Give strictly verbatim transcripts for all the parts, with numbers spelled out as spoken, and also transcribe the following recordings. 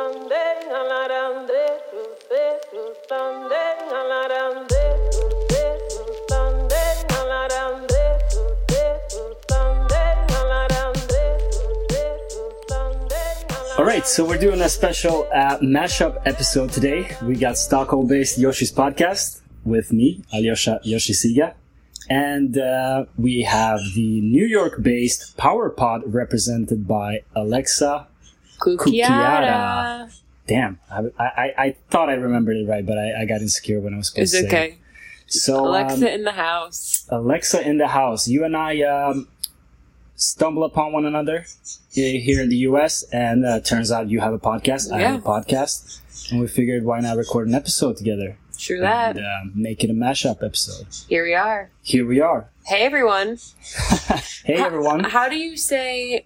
Alright, so we're doing a special uh, mashup episode today. We got Stockholm-based Yoshi's Podcast with me, Alyosha Yoshisiga. And uh, we have the New York-based Power Pod represented by Alexa Cucchiara. Damn, I, I, I thought I remembered it right, but I, I got insecure when I was supposed it's to say okay. it. So, Alexa um, in the house. Alexa in the house. You and I um, stumble upon one another here in the U S, and uh, turns out you have a podcast. I Yeah. have a podcast. And we figured, why not record an episode together? True that. And um, make it a mashup episode. Here we are. Here we are. Hey, everyone. Hey, How- everyone. How do you say,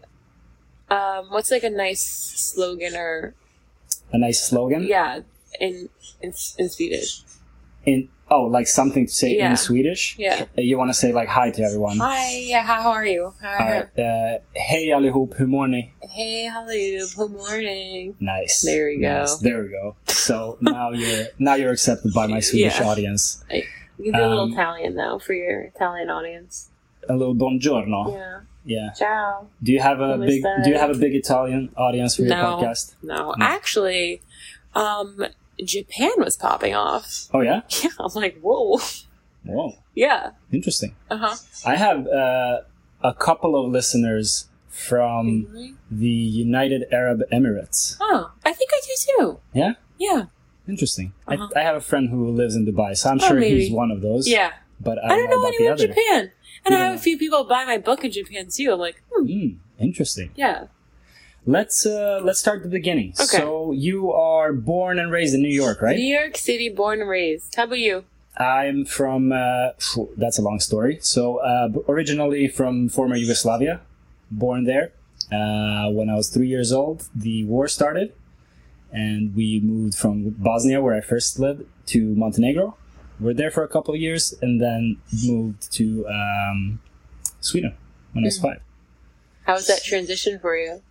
um, what's like a nice slogan or, A nice slogan? yeah, in in, in Swedish? In Oh, like something to say Yeah. in Swedish? Yeah. Uh, You want to say like hi to everyone? Hi, yeah, how are you? How All right. Uh, hej allihop, hur mår ni? Hey, hello, good morning. Nice. There we go. Nice. There we go. So now you're now you're accepted by my Swedish Yeah. audience. You do a little Um, Italian, though, for your Italian audience. A little buongiorno. Yeah. Yeah. Ciao. Do you have a Come big stai? Do you have a big Italian audience for your No. podcast? No, No. actually, um, Japan was popping off. Oh yeah. Yeah, I'm like, whoa. Whoa. Yeah. Interesting. Uh-huh. I have uh, a couple of listeners from Really? the United Arab Emirates. Oh, I think I do too. Yeah. Yeah. Interesting. Uh-huh. I, I have a friend who lives in Dubai, so I'm Oh, sure maybe. he's one of those. Yeah. But I I don't, don't know about anyone in the other. Japan. And You I have don't a few people buy my book in Japan too. I'm like, hmm, Mm, interesting. yeah. Let's uh, let's start at the beginning. Okay. So you are born and raised in New York, right? New York City, born and raised. How about you? I'm from. Uh, phew, that's a long story. So uh, b- originally from former Yugoslavia, born there. Uh, when I was three years old, the war started, and we moved from Bosnia, where I first lived, to Montenegro. We're there for a couple of years, and then moved to um, Sweden when I was Mhm. five. How was that transition for you?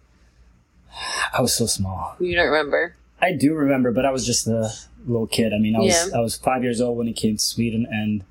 I was so small. You don't remember? I do remember, but I was just a little kid. I mean, I was Yeah. I was five years old when he came to Sweden, and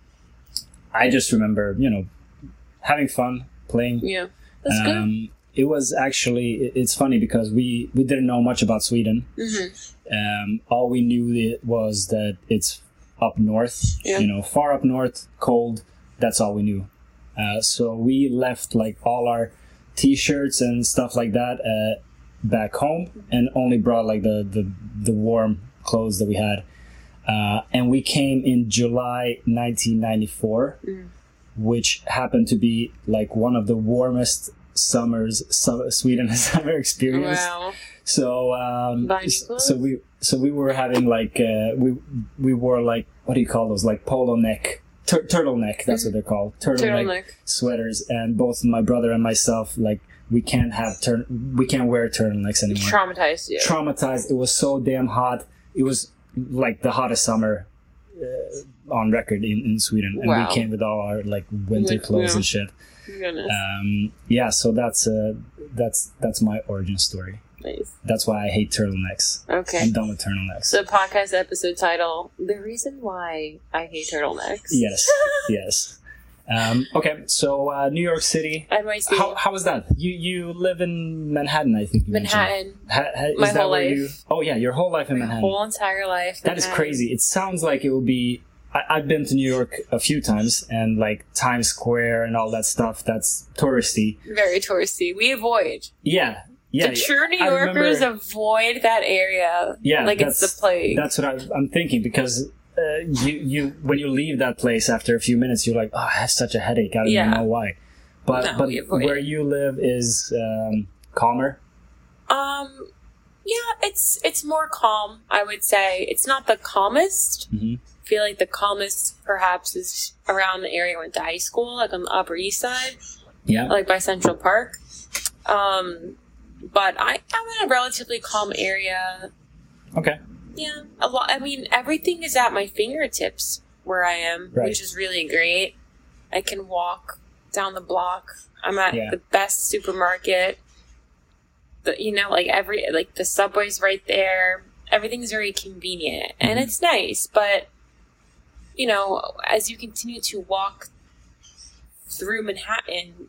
I just remember, you know, having fun, playing. Yeah. That's good. Um, it was actually it- it's funny because we we didn't know much about Sweden. Mm-hmm. Um, all we knew it was that it's up north, Yeah. you know, far up north, cold. That's all we knew. Uh, so we left like all our T-shirts and stuff like that uh, back home, and only brought like the the, the warm clothes that we had. Uh, and we came in July nineteen ninety-four, Mm. which happened to be like one of the warmest summers so- Sweden has ever experienced. Wow. So, um, Buying s- clothes? so we, so we were having like, uh, we, we wore like, what do you call those? Like polo neck, tur- turtleneck. That's what they're called. Turtleneck, Turtleneck. sweaters. And both my brother and myself, like, we can't have turn, we can't wear turtlenecks anymore. Traumatized you. Traumatized. It was so damn hot. It was like the hottest summer uh, on record in, in Sweden. And Wow. we came with all our like winter Like, clothes yeah. and shit. Goodness. Um, yeah. So that's, uh, that's, that's my origin story. Nice. That's why I hate turtlenecks. Okay. I'm done with turtlenecks. So podcast episode title, The Reason Why I Hate Turtlenecks. Yes, yes. Um, okay, so uh, New York City. N Y C. How, how was that? You you live in Manhattan, I think you Manhattan. mentioned. Ha, ha, is My that whole where life. You, oh yeah, your whole life in My Manhattan. whole entire life. That is Manhattan. crazy. It sounds like it would be. I, I've been to New York a few times, and like Times Square and all that stuff. That's touristy. Very touristy. We avoid. Yeah, yeah. the true New I Yorkers remember- avoid that area. Yeah, like it's that's- the plague. That's what I, I'm thinking because uh, you you when you leave that place after a few minutes, you're like, oh, I have such a headache. I don't Yeah. even know why. But No, but we avoid where it. you live is um, calmer. Um, yeah, it's it's more calm. I would say it's not the calmest. Mhm. I feel like the calmest, perhaps, is around the area I went to high school, like on the Upper East Side, Yeah. like by Central Park. Um, but I I'm in a relatively calm area. Okay. Yeah, a lot. I mean, everything is at my fingertips where I am, Right. which is really great. I can walk down the block. I'm at Yeah. the best supermarket. the, you know, like every like the subway's right there. Everything's very convenient, mm-hmm. and it's nice. But you know, as you continue to walk through Manhattan,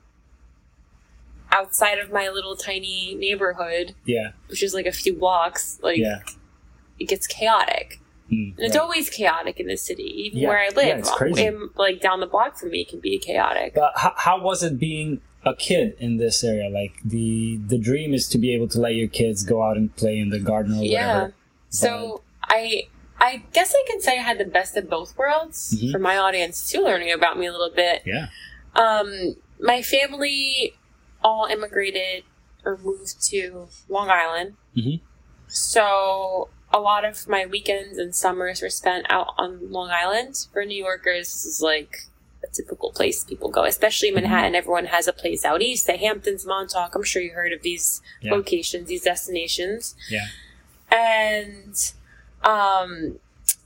outside of my little tiny neighborhood, yeah, which is like a few blocks, like yeah. it gets chaotic. Mm, and it's right. always chaotic in the city, even yeah. where I live. Yeah, it's crazy. In, like down the block from me can be chaotic. But how, how was it being a kid in this area? Like the the dream is to be able to let your kids go out and play in the garden or yeah. whatever. So I I guess I can say I had the best of both worlds mm-hmm. for my audience too, learning about me a little bit. Yeah. Um, my family all immigrated or moved to Long Island. Mm-hmm. So a lot of my weekends and summers were spent out on Long Island. For New Yorkers, this is like a typical place people go, especially Manhattan. Mm-hmm. Everyone has a place out east, the Hamptons, Montauk. I'm sure you heard of these yeah. locations, these destinations. Yeah. And, um,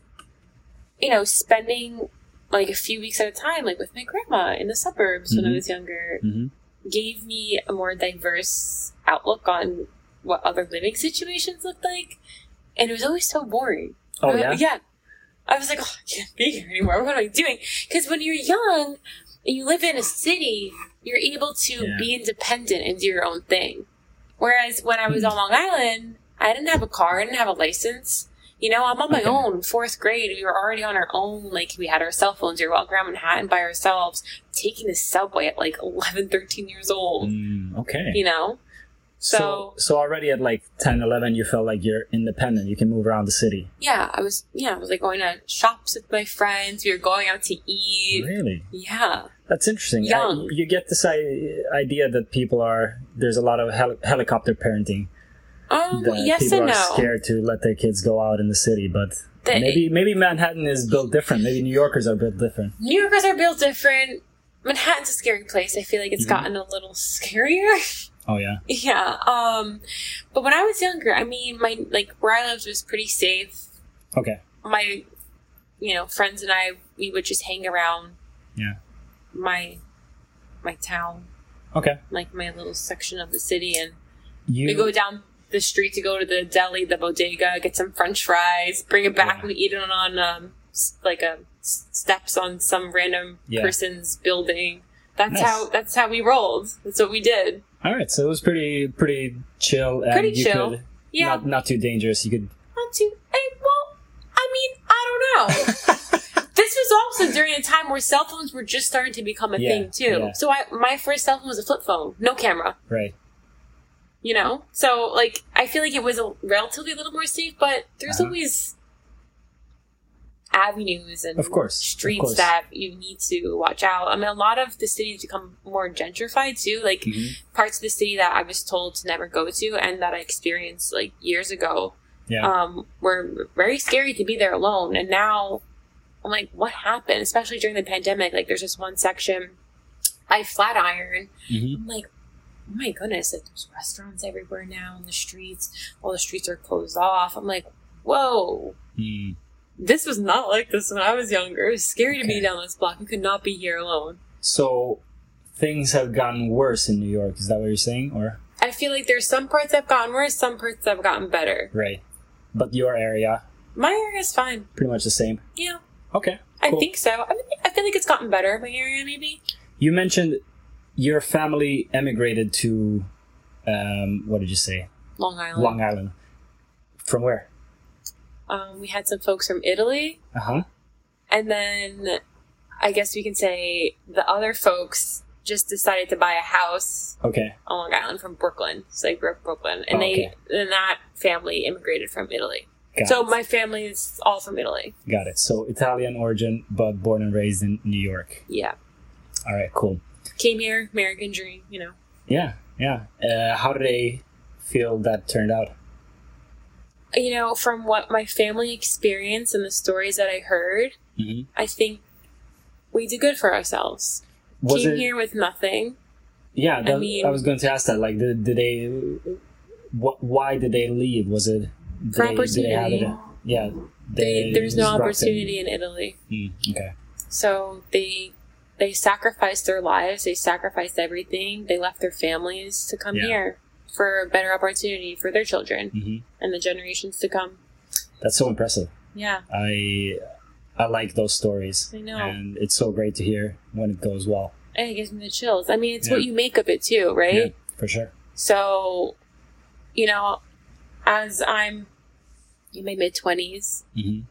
you know, spending like a few weeks at a time, like with my grandma in the suburbs mm-hmm. when I was younger, mm-hmm. gave me a more diverse outlook on what other living situations looked like. And it was always so boring. Oh, yeah? Uh, yeah. I was like, oh, I can't be here anymore. What am I doing? Because when you're young and you live in a city, you're able to yeah. be independent and do your own thing. Whereas when I was on Long Island, I didn't have a car. I didn't have a license. You know, I'm on my okay. own. Fourth grade, we were already on our own. Like, we had our cell phones. We were walking around Manhattan by ourselves, taking the subway at like eleven, thirteen years old. Mm, okay. You know? So, So, so already at like ten, eleven, you felt like you're independent. You can move around the city. yeah, I was, yeah, I was like going to shops with my friends. We were going out to eat. Really? Yeah. That's interesting. Young. I, you get this I- idea that people are, there's a lot of hel- helicopter parenting. Um, That yes people and are no. scared to let their kids go out in the city, but The- maybe maybe Manhattan is built different. Maybe New Yorkers are built different. New Yorkers are built different. Manhattan's a scary place. I feel like it's Mhm. gotten a little scarier. Oh yeah. Yeah. Um, but when I was younger, I mean, my, like, where I lived was pretty safe. Okay. My, you know, friends and I, we would just hang around Yeah. my, my town, Okay. like my little section of the city, and You we go down the street to go to the deli, the bodega, get some French fries, bring it back, Yeah. we eat it on, um, s- like a s- steps on some random Yeah. person's building. That's Nice. how, that's how we rolled. That's what we did. All right, so it was pretty pretty chill and Pretty you chill. could Yeah. not not too dangerous. You could Not too, I, well, I mean, I don't know. This was also during a time where cell phones were just starting to become a Yeah, thing too. yeah. So I, my first cell phone was a flip phone, no camera. right. You know, so like I feel like it was a relatively a little more safe, but there's Uh-huh. always avenues and Of course, of streets course. that you need to watch out. I mean, a lot of the cities become more gentrified too. Like Mhm. parts of the city that I was told to never go to and that I experienced like years ago, Yeah. um, were very scary to be there alone. And now I'm like, what happened? Especially during the pandemic. Like, there's this one section I Flatiron. hmm I'm like, oh my goodness, like there's restaurants everywhere now in the streets. All the streets are closed off. I'm like, whoa, Mm. this was not like this when I was younger. It was scary to Okay. be down this block. You could not be here alone. So things have gotten worse in New York. Is that what you're saying, or I feel like there's some parts that have gotten worse, some parts that have gotten better. right? But your area, My area's fine. pretty much the same. Yeah, Okay. I cool. think so. I, mean, I feel like it's gotten better. My area, maybe. You mentioned your family emigrated to, um, what did you say? Long Island. Long Island. From where? Um, we had some folks from Italy. Uh huh. And then I guess we can say the other folks just decided to buy a house Okay. on Long Island from Brooklyn. So I grew up in Brooklyn. And Oh, they okay. and that family immigrated from Italy. Got So it. my family is all from Italy. Got it. So Italian origin, but born and raised in New York. Yeah. All right. Cool. Came here, American dream, you know. Yeah. Yeah. Uh, how did they feel that turned out? You know, from what my family experienced and the stories that I heard, Mm-hmm. I think we did good for ourselves. Was Came it? here with nothing. Yeah. That, I, mean- was going to ask that. Like, did, did they? What? Why did they leave? Was it? Did For they, did they have it? opportunity. Yeah. They, there's no just brought opportunity in Italy. them- Mm, okay. So they they sacrificed their lives. They sacrificed everything. They left their families to come Yeah. here. for a better opportunity for their children Mm-hmm. and the generations to come. That's so impressive. Yeah. I I like those stories. I know. And it's so great to hear when it goes well. And it gives me the chills. I mean, it's Yeah. what you make of it too, right? Yeah, for sure. So, you know, as I'm in my mid-twenties, Mm-hmm.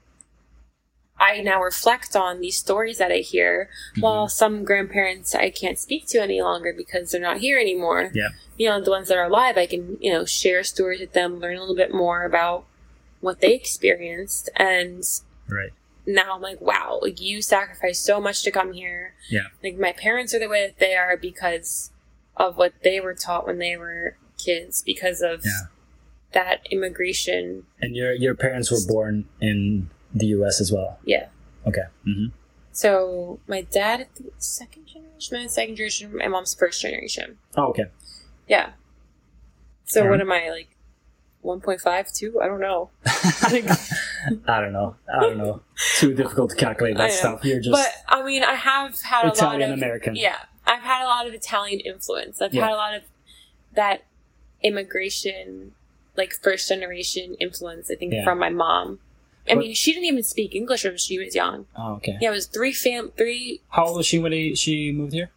I now reflect on these stories that I hear, Mm-hmm. while some grandparents I can't speak to any longer because they're not here anymore. Yeah. You know, the ones that are alive, I can, you know, share stories with them, learn a little bit more about what they experienced. And Right. now I'm like, wow, like you sacrificed so much to come here. Yeah. Like my parents are the way that they are because of what they were taught when they were kids, because of Yeah. that immigration. And your your parents were born in the U S as well. Yeah. Okay. Mm-hmm. So my dad, I think, second generation, my second generation, my mom's first generation. Oh, okay. Yeah. So Alright. what am I, like, one point five, two? I don't know. Like, I don't know. I don't know. Too difficult to calculate I that know. stuff. You're just but I mean, I have had a lot Italian of American. Yeah, I've had a lot of Italian influence. I've Yeah. had a lot of that immigration, like first generation influence. I think Yeah. from my mom. I What- mean, she didn't even speak English when she was young. Oh, okay. Yeah, it was three fam, three. How old was she when he, she moved here?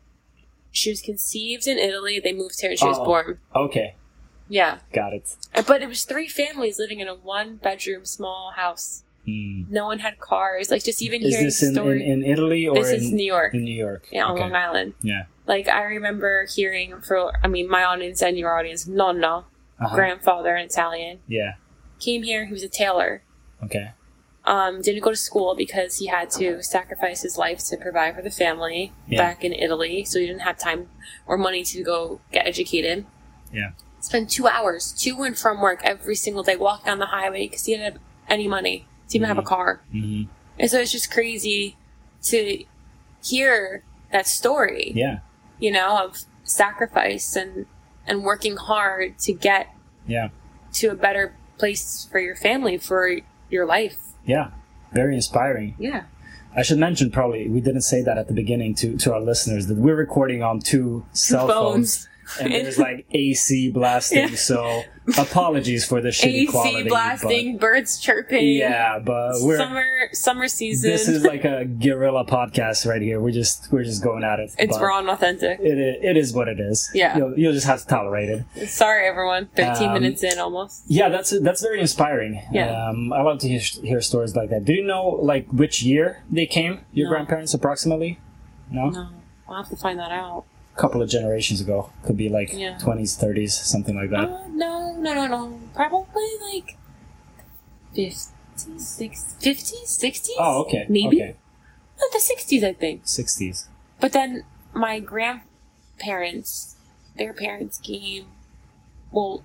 She was conceived in Italy. They moved here and she was Oh. born. Okay. Yeah, Got it. Uh, but it was three families living in a one bedroom small house. Hmm. No one had cars. Like just even Is hearing this in, in, stories. in Italy or This in, is New York. in New York? Yeah, on Okay. Long Island. Yeah. Like, I remember hearing for, I mean, my audience and your audience, nonno, Uh-huh. grandfather in Italian, Yeah. came here, he was a tailor. Okay. Um, didn't go to school because he had to sacrifice his life to provide for the family Yeah. back in Italy, so he didn't have time or money to go get educated. Yeah. Spent two hours to and from work every single day, walk down the highway because he didn't have any money to even have a car. Mm-hmm. And so it's just crazy to hear that story. Yeah. You know, of sacrifice and and working hard to get Yeah. to a better place for your family, for your life. Yeah. Very inspiring. Yeah. I should mention, probably, we didn't say that at the beginning to, to our listeners, that we're recording on two cell phones. phones. And there's like A C blasting, Yeah. so apologies for the shitty A quality. C blasting, birds chirping. But yeah, but we're summer summer season. this is like a guerrilla podcast right here. We're just we're just going at it. it's but raw and authentic. It i- it is what it is. Yeah. you'll, you'll just have to tolerate it. Sorry, everyone. Thirteen Um, minutes in, almost. Yeah, that's that's very inspiring. Yeah. um, I love to hear, hear stories like that. Do you know like which year they came? Your No. grandparents approximately? No, No, I'll have to find that out. a couple of generations ago. Could be like Yeah. twenties, thirties, something like that. Uh, no, no, no, no. Probably like fifties, sixties, fifties, sixties. Oh, okay. Maybe Okay. Uh, the sixties, I think. sixties. But then my grandparents, their parents came. Well,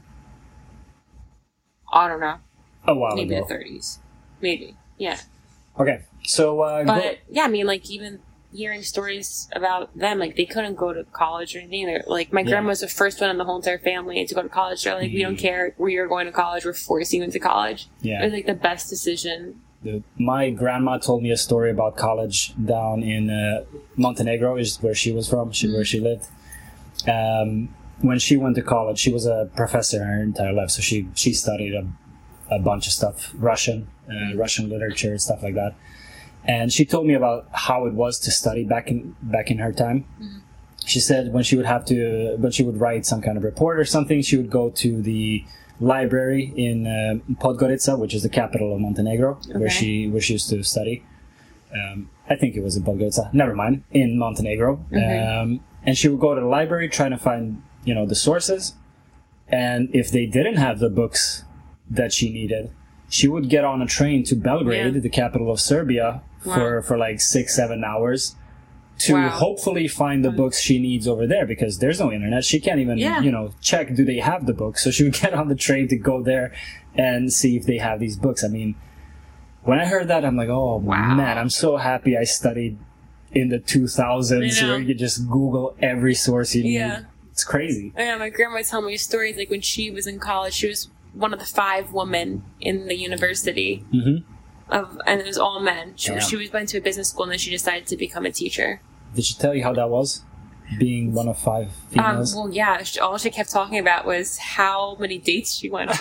I don't know. A while Maybe ago. the thirties. Maybe. Yeah. Okay, so uh, But go- yeah, I mean, like even hearing stories about them, like they couldn't go to college or anything. They're, like my Yeah. grandma was the first one in the whole entire family to go to college. They're like, we don't Mhm. care where you're going to college. We're forcing you into college. It yeah. was like the best decision. The- my grandma told me a story about college down in uh, Montenegro, is where she was from, she, where she lived. Um, when she went to college, she was a professor her entire life, so she she studied a, a bunch of stuff, Russian, uh, Russian literature, stuff like that. And she told me about how it was to study back in back in her time. She said when she would have to, when she would write some kind of report or something, she would go to the library in uh, Podgorica, which is the capital of Montenegro, where Okay. she where she used to study. Um, I think it was in Podgorica. Never mind, in Montenegro. Um, and she would go to the library trying to find, you know, the sources. And if they didn't have the books that she needed, she would get on a train to Belgrade, Yeah. the capital of Serbia, for Wow. for like six, seven hours to Wow. hopefully find the books she needs over there, because there's no internet. She can't even, Yeah. you know, check, do they have the books? So she would get on the train to go there and see if they have these books. I mean, when I heard that, I'm like, oh, Wow. man, I'm so happy I studied in the two thousands I know. where you could just Google every source you need. Yeah. It's crazy. Yeah, my grandma would tell me stories like when she was in college, she was one of the five women in the university. hmm Of, and it was all men. She, Damn. she was went to a business school and then she decided to become a teacher. Did she tell you how that was? being one of five Um, females. well, yeah. She, all she kept talking about was how many dates she went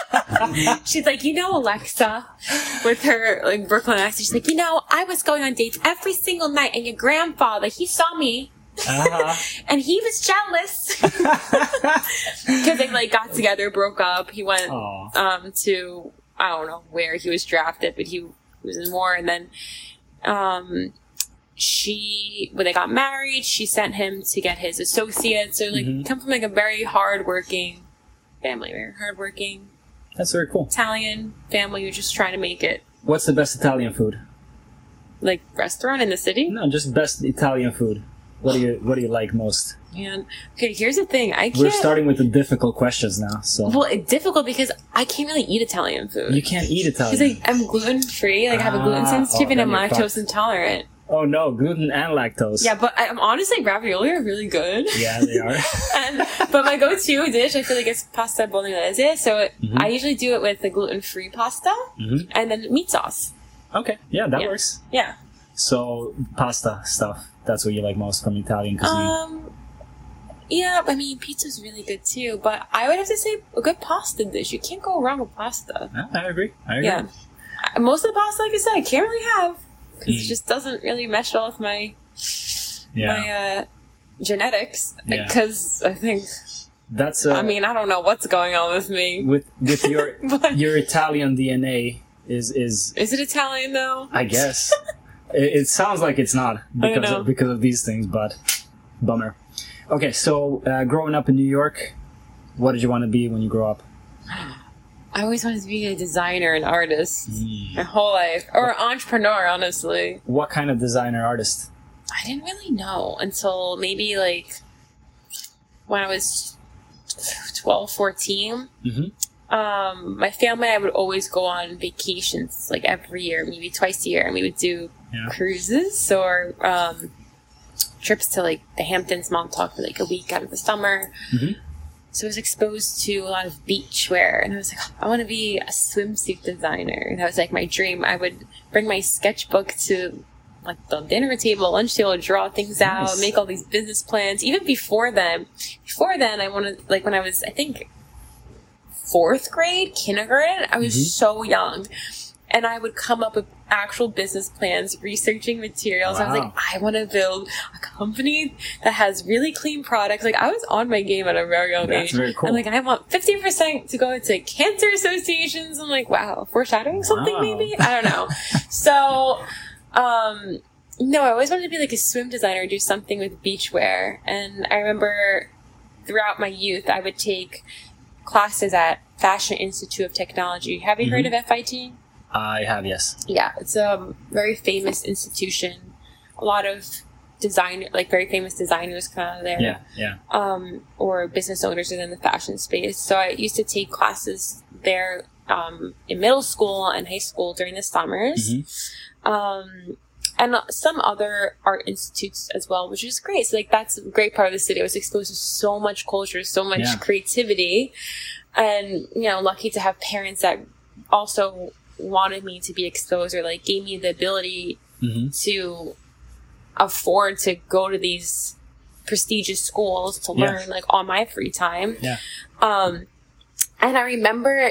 on. She's like, you know, Alexa, with her like Brooklyn accent. She's like, you know, I was going on dates every single night, and your grandfather, he saw me. Uh-huh. And he was jealous because they like got together, broke up. He went Aw. um, to I don't know where he was drafted, but he was in war. And then um, she, when they got married, she sent him to get his associate. So like, Mhm. come from like a very hardworking family, very hardworking That's very cool. Italian family who's just trying to make it. What's the best Italian food? Like restaurant in the city. No, just best Italian food. What do you What do you like most? And okay, here's the thing. I can't. We're starting with the difficult questions now, so Well, it's difficult because I can't really eat Italian food. you can't eat Italian. Because like, I'm gluten free, like I have a gluten Ah, sensitivity oh, and I'm then you're lactose fucked. intolerant. Oh no, gluten and lactose. Yeah, but I, I'm honestly ravioli are really good. Yeah, they are. and but my go-to dish, I feel like it's pasta bolognese. So it, Mhm. I usually do it with the gluten-free pasta Mhm. and then meat sauce. Okay, yeah, that Yeah. works. Yeah. So pasta stuff. That's what you like most from Italian cuisine. Um. Yeah, I mean pizza's really good too, but I would have to say a good pasta dish. You can't go wrong with pasta. Yeah, I agree. I agree. Yeah. I- Most of the pasta, like I said, I can't really have because Mm. it just doesn't really mesh well with my Yeah. my uh, genetics. Yeah. Because I think, That's. Uh, I mean, I don't know what's going on with me. with with your But your Italian D N A is is is it Italian though? I guess. it, it sounds like it's not because know. of, because of these things, but bummer. Okay, so uh, growing up in New York, what did you want to be when you grow up? I always wanted to be a designer and artist Mm. my whole life, or an entrepreneur. Honestly, What kind of designer artist? I didn't really know until maybe like when I was twelve, fourteen. Mhm. Um, my family and I would always go on vacations like every year, maybe twice a year, and we would do Yeah. cruises or um, trips to like the Hamptons, Montauk for like a week out of the summer. Mhm. So I was exposed to a lot of beach wear, and I was like, oh, I want to be a swimsuit designer. And that was like my dream. I would bring my sketchbook to like the dinner table, lunch table, draw things out, Nice. make all these business plans. Even before then, before then, I wanted like when I was, I think, fourth grade, kindergarten. I was Mhm. so young, and I would come up with actual business plans, researching materials. I was Wow. like, I want to build a company that has really clean products. Like I was on my game at a very young That's age. very cool. I'm like, I want fifty percent to go into cancer associations. I'm like, wow, foreshadowing something Wow. maybe? I don't know. So, um, no, I always wanted to be like a swim designer, do something with beachwear. And I remember throughout my youth, I would take classes at Fashion Institute of Technology. Have you heard Mhm. of F I T? I have, yes. Yeah, it's a very famous institution. A lot of designer, like very famous designers come out of there. Yeah, yeah. Um, or business owners within the fashion space. So I used to take classes there um, in middle school and high school during the summers. Mhm. Um, and some other art institutes as well, which is great. So like that's a great part of the city. I was exposed to so much culture, so much Yeah. creativity, and you know, lucky to have parents that also wanted me to be exposed or like gave me the ability Mhm. to afford to go to these prestigious schools to Yeah. learn like on my free time. Yeah. Um, and I remember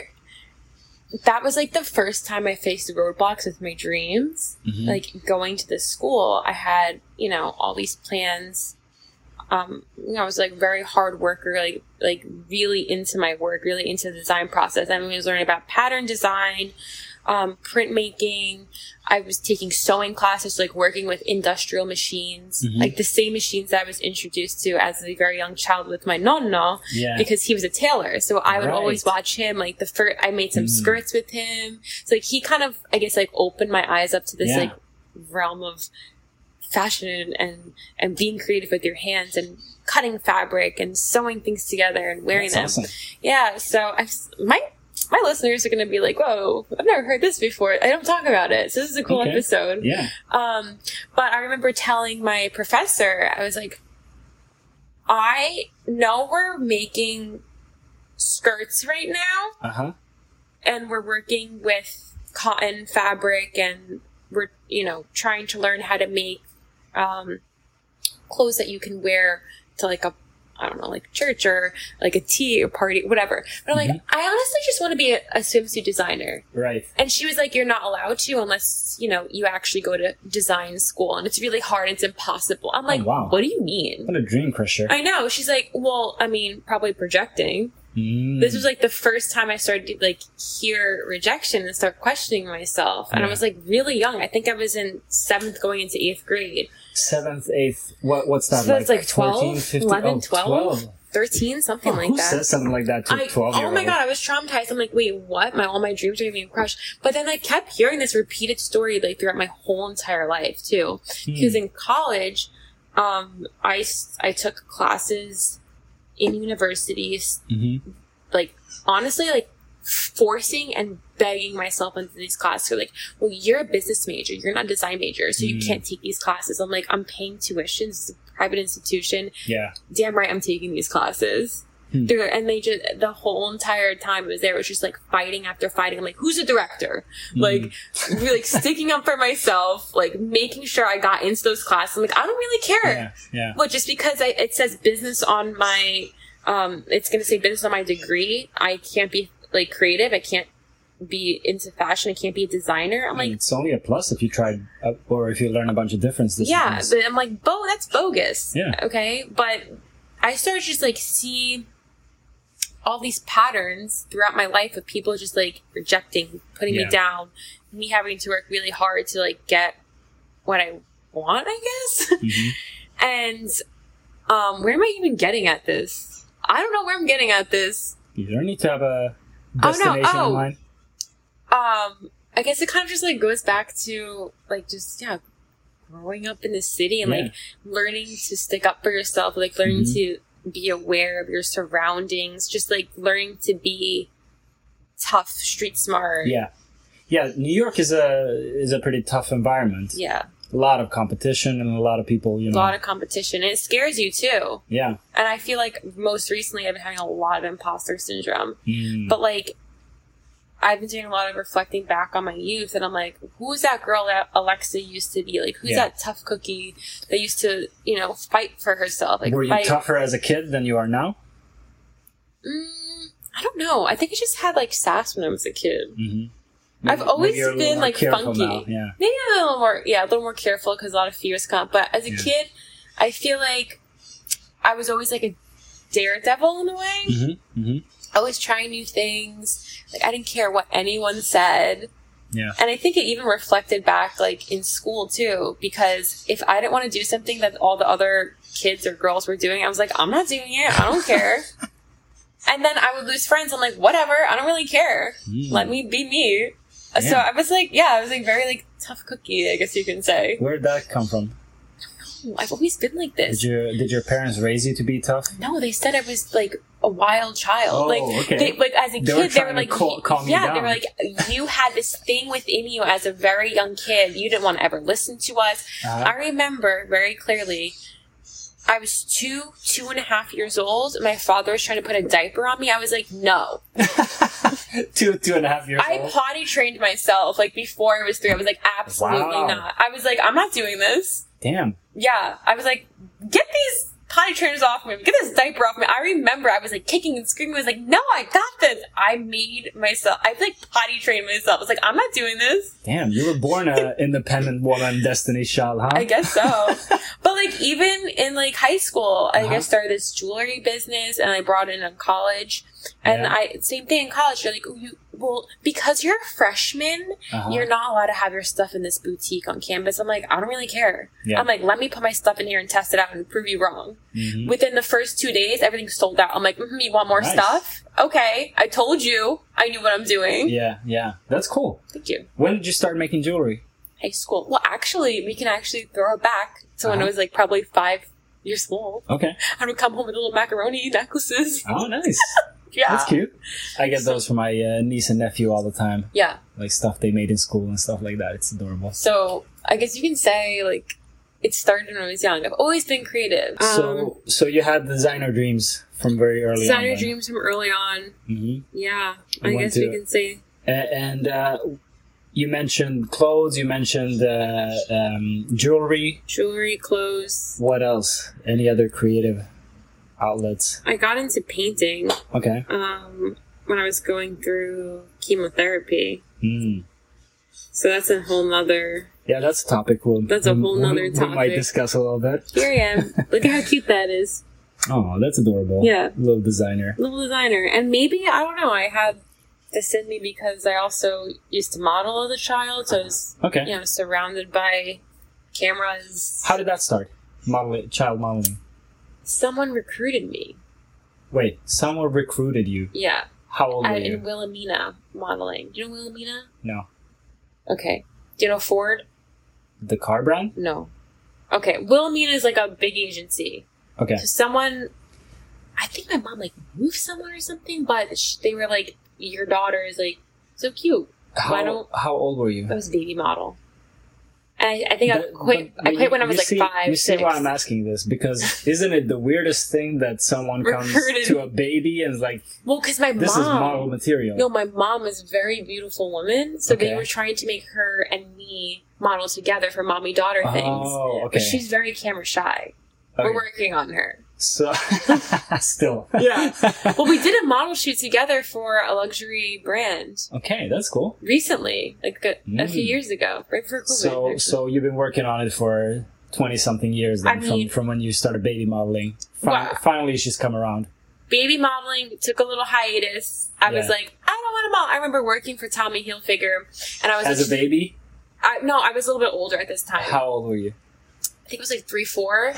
that was like the first time I faced roadblocks with my dreams. Mhm. Like going to this school, I had, you know, all these plans. Um, you know, I was like very hard worker, like, like really into my work, really into the design process. I mean, I was learning about pattern design, um, printmaking. I was taking sewing classes, like working with industrial machines, Mhm. like the same machines that I was introduced to as a very young child with my nonno, Yeah. because he was a tailor. So I would Right. always watch him. Like the first, I made some Mm. skirts with him. So like he kind of, I guess, like opened my eyes up to this Yeah. like realm of fashion and and being creative with your hands and cutting fabric and sewing things together and wearing That's them. awesome. Yeah. So I my my listeners are going to be like, "Whoa, I've never heard this before. I don't talk about it." So this is a cool Okay. episode. Yeah. Um, but I remember telling my professor, I was like, I know we're making skirts right now Uh huh. and we're working with cotton fabric and we're, you know, trying to learn how to make, um, clothes that you can wear to like a, I don't know, like church or like a tea or party, whatever. But I'm Mm-hmm. like, I honestly just want to be a, a swimsuit designer. Right. And she was like, you're not allowed to unless, you know, you actually go to design school. And it's really hard. It's impossible. I'm like, Oh, wow. what do you mean? What a dream crusher. I know. She's like, well, I mean, probably projecting. Mm. This was like the first time I started to like hear rejection and start questioning myself. And Yeah. I was like really young. I think I was in seventh going into eighth grade. Seventh, eighth, what, what's that? So that's like fourteen, twelve, fifteen? eleven, Oh, twelve, twelve. thirteen, something Oh, like who that. says something like that to a I, twelve year oh old? my god, I was traumatized. I'm like, wait, what? My all my dreams are gonna be crushed. But then I kept hearing this repeated story like throughout my whole entire life too. Hmm. Because in college, um, I s- I took classes in universities, Mm-hmm. like honestly, like forcing and begging myself into these classes. So like, well, you're a business major, you're not a design major, so you Mm. can't take these classes. I'm like, I'm paying tuition. It's a private institution. Yeah. Damn right, I'm taking these classes. Hmm. They're- And they just, the whole entire time I was there, it was just like fighting after fighting. I'm like, who's the director? Mm. Like, really like sticking up for myself, like making sure I got into those classes. I'm like, I don't really care. Yeah. Yeah. But just because I, it says business on my, um, it's going to say business on my degree, I can't be like creative. I can't be into fashion. I can't be a designer. I'm I mean, like, it's only a plus if you tried, uh, or if you learn a bunch of different yeah, disciplines. but I'm like, bo, that's bogus. Yeah. Okay. But I started to just like see all these patterns throughout my life of people just like rejecting, putting Yeah. me down, me having to work really hard to like get what I want, I guess. Mhm. And um, where am I even getting at this? I don't know where I'm getting at this. You don't need to have a Oh, no. destination Oh. in mind. Um, I guess it kind of just like goes back to like just yeah, growing up in the city and Yeah. like learning to stick up for yourself, like learning Mhm. to be aware of your surroundings, just like learning to be tough, street smart. Yeah. Yeah, New York is a is a pretty tough environment. Yeah. A lot of competition and a lot of people, you A know. lot of competition. And it scares you too. yeah. And I feel like most recently I've been having a lot of imposter syndrome. Mm. But like, I've been doing a lot of reflecting back on my youth, and I'm like, who's that girl that Alexa used to be? Like, who's Yeah. that tough cookie that used to, you know, fight for herself? Like, Were you fight. tougher as a kid than you are now? Mm, I don't know. I think I just had like sass when I was a kid. Mm-hmm. I've always you're a little been more like careful funky. now, yeah. Maybe a little more, yeah, a little more careful because a lot of fears come. But as a Yeah. kid, I feel like I was always like a daredevil in a way. Mm-hmm. Mm-hmm. Always trying new things. Like I didn't care what anyone said. Yeah. And I think it even reflected back like in school too, because if I didn't want to do something that all the other kids or girls were doing, I was like, I'm not doing it. I don't care. And then I would lose friends. I'm like, whatever. I don't really care. Mm. Let me be me. So Yeah. I was like, yeah, I was like very like tough cookie, I guess you can say. Where'd that come from? I've always been like this. Did your did your parents raise you to be tough? No, they said I was like a wild child. Oh, like, okay. they, like as a They were kid, they were trying to like, cal- calm you yeah, down. they were like, you had this thing within you as a very young kid. You didn't want to ever listen to us. Uh-huh. I remember very clearly. I was two, two and a half years old. And my father was trying to put a diaper on me. I was like, no. two two and a half years I old. potty trained myself like before I was three. I was like, absolutely Wow. not. I was like, I'm not doing this. Damn. Yeah, I was like, get these potty trainers off me. Get this diaper off me. I remember I was like kicking and screaming. I was like, no, I got this. I made myself, I like potty trained myself. I was like, I'm not doing this. Damn, you were born a independent woman, Destiny's Child, huh? I guess so. But like even in like high school, I Uh-huh. guess started this jewelry business and I brought it in college. And Yeah. I, same thing in college. You're like, oh, you, well, because you're a freshman, Uh-huh. you're not allowed to have your stuff in this boutique on campus. I'm like, I don't really care. Yeah. I'm like, let me put my stuff in here and test it out and prove you wrong. Mhm. Within the first two days, everything's sold out. I'm like, mm-hmm, you want more Nice. stuff? Okay. I told you. I knew what I'm doing. Yeah, yeah. That's cool. Thank you. When did you start making jewelry? High school. Well, actually, we can actually throw it back to when I Uh-huh. was like probably five years old. Okay. I would come home with little macaroni necklaces. Oh, nice. Yeah. That's cute. I get those for my uh, niece and nephew all the time. Yeah. Like stuff they made in school and stuff like that. It's adorable. So I guess you can say like it started when I was young. I've always been creative. Um, So, so you had designer dreams from very early designer on. dreams from early on. hmm Yeah. You I went guess to- you can say. And uh, you mentioned clothes. You mentioned uh, um, jewelry. Jewelry, clothes. What else? Any other creative outlets? I got into painting. Okay. Um, when I was going through chemotherapy. Mm. So that's a whole nother... Yeah, that's a topic we'll... That's a whole nother we, topic. We might discuss a little bit. Here I am. Look at how cute that is. Oh, that's adorable. Yeah. Little designer. Little designer. And maybe, I don't know, I had this in me because I also used to model as a child. So I was, Okay. you know, surrounded by cameras. How did that start? Modeling, child modeling. Someone recruited me. Wait, someone recruited you. Yeah. How old were At, you? in Wilhelmina modeling. Do you know Wilhelmina? No. Okay. Do you know Ford? The car brand? No. Okay. Wilhelmina is like a big agency. Okay. So someone, I think my mom like moved someone or something, but sh- they were like, your daughter is like so cute. How, Why don't how old were you? I was a baby model. And I, I think I But- quit. but I quit when I you was like see, five. You see six. why I'm asking this? Because isn't it the weirdest thing that someone comes Recruited. to a baby and is like, Well, because my this mom. is model material? No, my mom was a very beautiful woman, so Okay. they were trying to make her and me model together for mommy daughter things. Oh, okay. But she's very camera shy. Okay. We're working on her. So, still. Yeah. Well, we did a model shoot together for a luxury brand Okay, that's cool. recently, like a, a few Mm. years ago, right before COVID. So, actually. so you've been working on it for twenty something years then, I mean- from, from when you started baby modeling. Fi- Wow. Finally, she's come around. Baby modeling took a little hiatus. I was Yeah. like, I don't want to model. I remember working for Tommy Hilfiger, and I was As a like, baby, I, no, I was a little bit older at this time. how old were you? I think it was like three, four,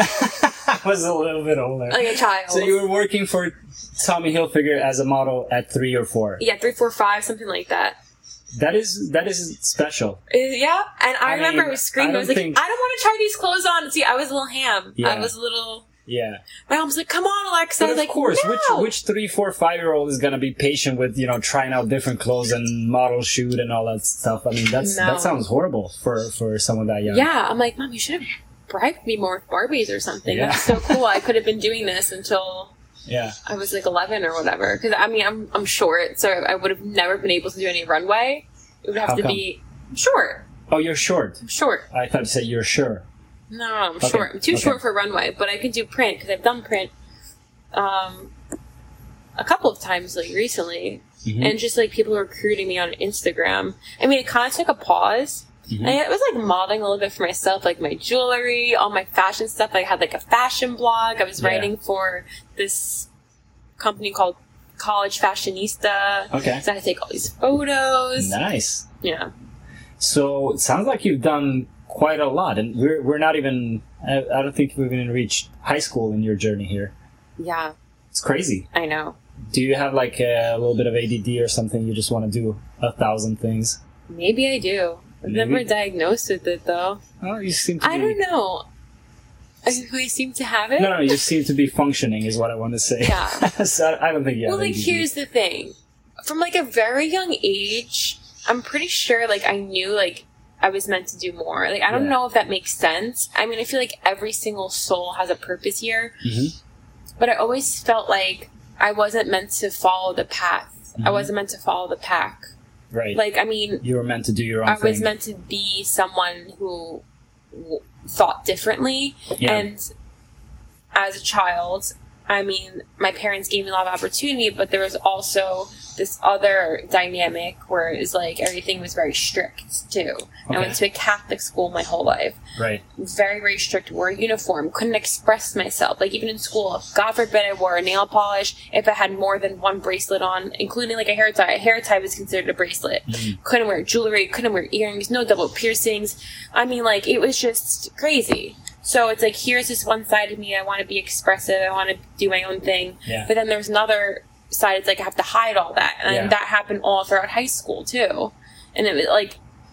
I was a little bit older. like a child. So you were working for Tommy Hilfiger as a model at three or four. Yeah, three, four, five, something like that. That is that is special. Uh, yeah, and I, I remember mean, I was screaming. I I, was don't like, think- I don't want to try these clothes on. See, I was a little ham. Yeah. I was a little. Yeah. My mom's like, "Come on, Alexa." But I was of like, course, no. which which three, four, five year old is gonna be patient with, you know, trying out different clothes and model shoot and all that stuff? I mean, that's No. that sounds horrible for for someone that young. Yeah, I'm like, Mom, you should have bribed me more with Barbies or something. Yeah. That's so cool. I could have been doing this until Yeah. I was like eleven or whatever. Because I mean, I'm I'm short, so I would have never been able to do any runway. It would have How to come? be short. Oh, you're short. I'm short. I thought you said you're sure. No, I'm Okay, short. I'm too okay. short for runway, but I can do print because I've done print um, a couple of times like recently, Mhm. and just like people recruiting me on Instagram. I mean, it kind of took a pause. Mhm. And it was like modeling a little bit for myself, like my jewelry, all my fashion stuff. I had like a fashion blog. I was Yeah. writing for this company called College Fashionista. Okay. So I had to take all these photos. Nice. Yeah. So it sounds like you've done quite a lot, and we're we're not even. I, I don't think we've even reached high school in your journey here. Yeah, It's crazy. I know. Do you have like a little bit of A D D or something? You just want to do a thousand things? Maybe I do. I've Maybe. never diagnosed with it though. Oh, you seem to. I be... don't know. I I seem to have it. No, no, you seem to be functioning, is what I want to say. Yeah. So I I don't think you have Well, like, A D D. here's the thing. From, like, a very young age, I'm pretty sure, like, I knew, like, I was meant to do more. Like, I don't Yeah. know if that makes sense. I mean, I feel like every single soul has a purpose here. Mhm. But I always felt like I wasn't meant to follow the path. I Mhm. wasn't meant to follow the pack. Right. Like, I mean, you were meant to do your own I thing. was meant to be someone who w- thought differently. Yeah. And as a child, I mean, my parents gave me a lot of opportunity, but there was also this other dynamic where it was like everything was very strict too. I Okay. went to a Catholic school my whole life. Right. Very, very strict. Wore a uniform. Couldn't express myself. Like, even in school, God forbid I wore a nail polish if I had more than one bracelet on, including like a hair tie. A hair tie was considered a bracelet. Mhm. Couldn't wear jewelry. Couldn't wear earrings. No double piercings. I mean, like, it was just crazy. So it's like, here's this one side of me. I want to be expressive. I want to do my own thing. Yeah. But then there's another side. It's like I have to hide all that. And Yeah. that happened all throughout high school, too. And it was like,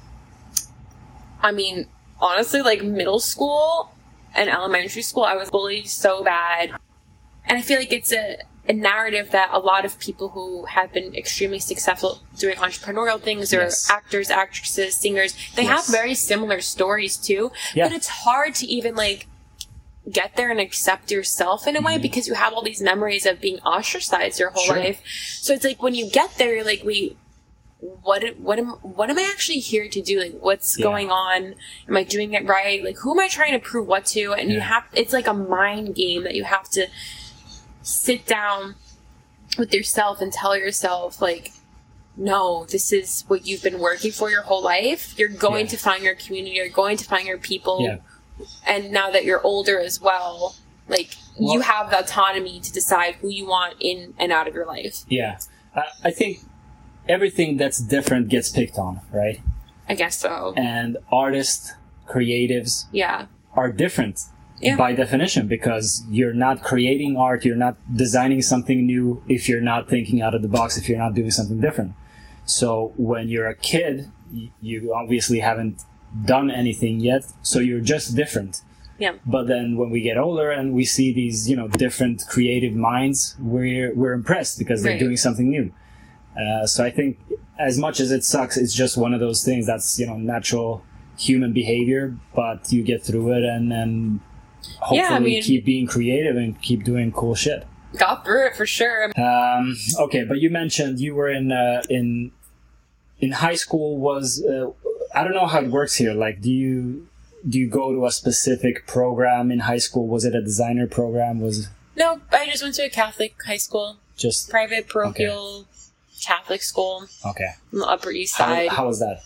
I mean, honestly, like middle school and elementary school, I was bullied so bad. And I feel like it's a, a narrative that a lot of people who have been extremely successful doing entrepreneurial things, or Yes. actors, actresses, singers, they Yes. have very similar stories too. Yeah. But it's hard to even like get there and accept yourself in a way, because you have all these memories of being ostracized your whole Sure. life. So it's like when you get there, you're like, wait, what what am what am I actually here to do? Like, what's Yeah. going on? Am I doing it right? Like, who am I trying to prove what to? And you Yeah. have it's like a mind game that you have to sit down with yourself and tell yourself, like, no, this is what you've been working for your whole life. You're going Yeah. to find your community. You're going to find your people. Yeah. And now that you're older as well, like, Well- you have the autonomy to decide who you want in and out of your life. Yeah. I, I think everything that's different gets picked on, right? I guess so. And artists, creatives Yeah. are different Yeah. by definition, because you're not creating art, you're not designing something new if you're not thinking out of the box, if you're not doing something different. So when you're a kid, y- you obviously haven't done anything yet, so you're just different. Yeah. But then when we get older and we see these, you know, different creative minds, we're we're impressed because they're Right. doing something new. Uh, so I think, as much as it sucks, it's just one of those things that's, you know, natural human behavior. But you get through it, and then hopefully Yeah, I mean- keep being creative and keep doing cool shit. Got through it for sure. Um, okay, but you mentioned you were in uh, in in high school. Was uh, I don't know how it works here. Like, do you do you go to a specific program in high school? Was it a designer program? Was No, I just went to a Catholic high school, just private parochial Catholic school okay? on the Upper East How, Side. how was that?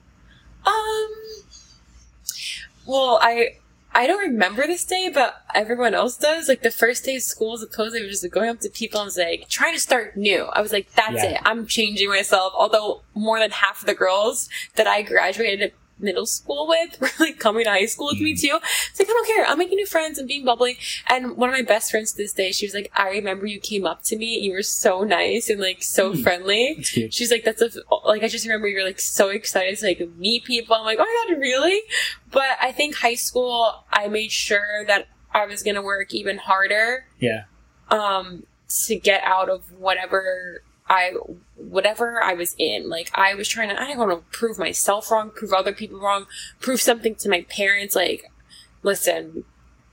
Um. Well, I I don't remember this day, but everyone else does. Like, the first day of school, supposedly, was just going up to people and was like, trying to start new. I was like, that's Yeah. it. I'm changing myself. Although more than half of the girls that I graduated middle school with were like coming to high school with me too. It's like, I don't care. I'm making new friends and being bubbly. And one of my best friends to this day, she was like, I remember you came up to me. You were so nice and like so Mm. friendly. It's cute. She's like, that's a, like, I just remember you're like so excited to like meet people. I'm like, oh my God, really? But I think high school, I made sure that I was going to work even harder, Yeah, um, to get out of whatever I, whatever I was in. Like, I was trying to, I didn't want to prove myself wrong, prove other people wrong, prove something to my parents. Like, listen,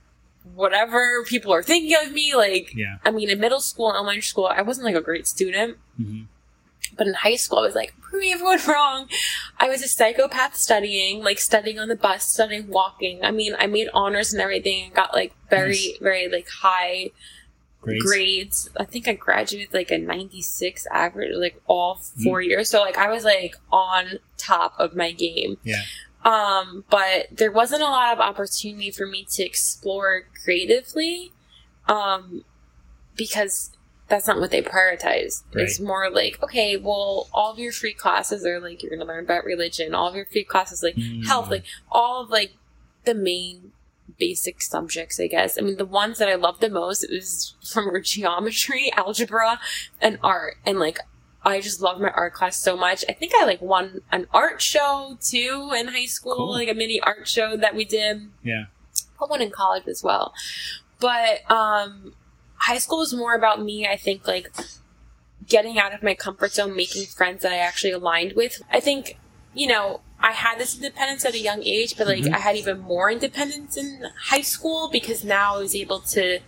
whatever people are thinking of me, like, yeah. I mean, in middle school and elementary school, I wasn't like a great student. hmm But in high school, I was like, proving everyone wrong. I was a psychopath studying, like studying on the bus, studying walking. I mean, I made honors and everything and got like very, Nice. very like high Grades. grades. I think I graduated like a ninety-six average, like all four years. So like I was like on top of my game. Yeah, Um, but there wasn't a lot of opportunity for me to explore creatively, um, because that's not what they prioritized. It's Right. more like, okay, well, all of your free classes are like, you're going to learn about religion. All of your free classes, like Mm. health, like all of like the main basic subjects, I guess. I mean, the ones that I loved the most, it was from geometry, algebra, and art. And like, I just loved my art class so much. I think I like won an art show too in high school, Cool. like a mini art show that we did. yeah, Put one in college as well. But um, high school was more about me, I think, like getting out of my comfort zone, making friends that I actually aligned with. I think, you know, I had this independence at a young age, but like Mhm. I had even more independence in high school because now I was able to,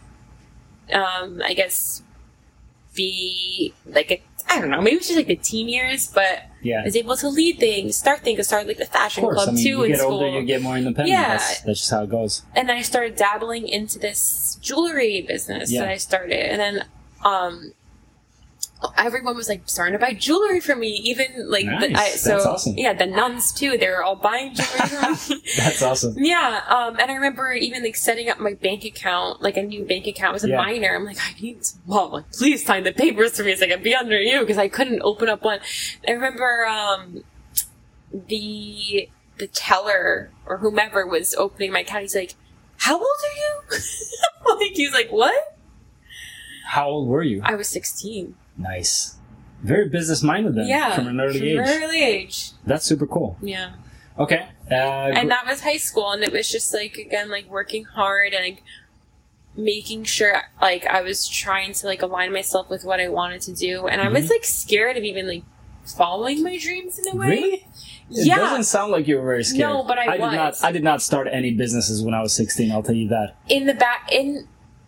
um, I guess, be like a, I don't know, maybe it's just like the teen years, but yeah. I was able to lead things, start things, I started like the Of fashion course, club I mean, too you in get school. older, you get more independent. Yeah. That's, that's just how it goes. And then I started dabbling into this jewelry business Yeah. that I started. And then um, everyone was like starting to buy jewelry from me. Even like the, I, Nice. so That's awesome. yeah, the nuns too. They were all buying jewelry from me. That's awesome. Yeah, um, and I remember even like setting up my bank account, like a new bank account. I was a Yeah. minor. I'm like, I need some mom, like, please sign the papers for me so I can be under you because I couldn't open up one. I remember um, the the teller or whomever was opening my account. He's like, "How old are you?" Like he's like, "What?" How old were you? I was sixteen. Nice. Very business minded then. Yeah, From an early from age. an early age. That's super cool. Yeah. Okay. Uh, And that was high school, and it was just like again like working hard and like making sure like I was trying to like align myself with what I wanted to do, and I was Mhm. like scared of even like following my dreams in a way. Really? It Yeah. doesn't sound like you were very scared. No, but I did was. not. I did not start any businesses when I was sixteen. I'll tell you that. In the back, in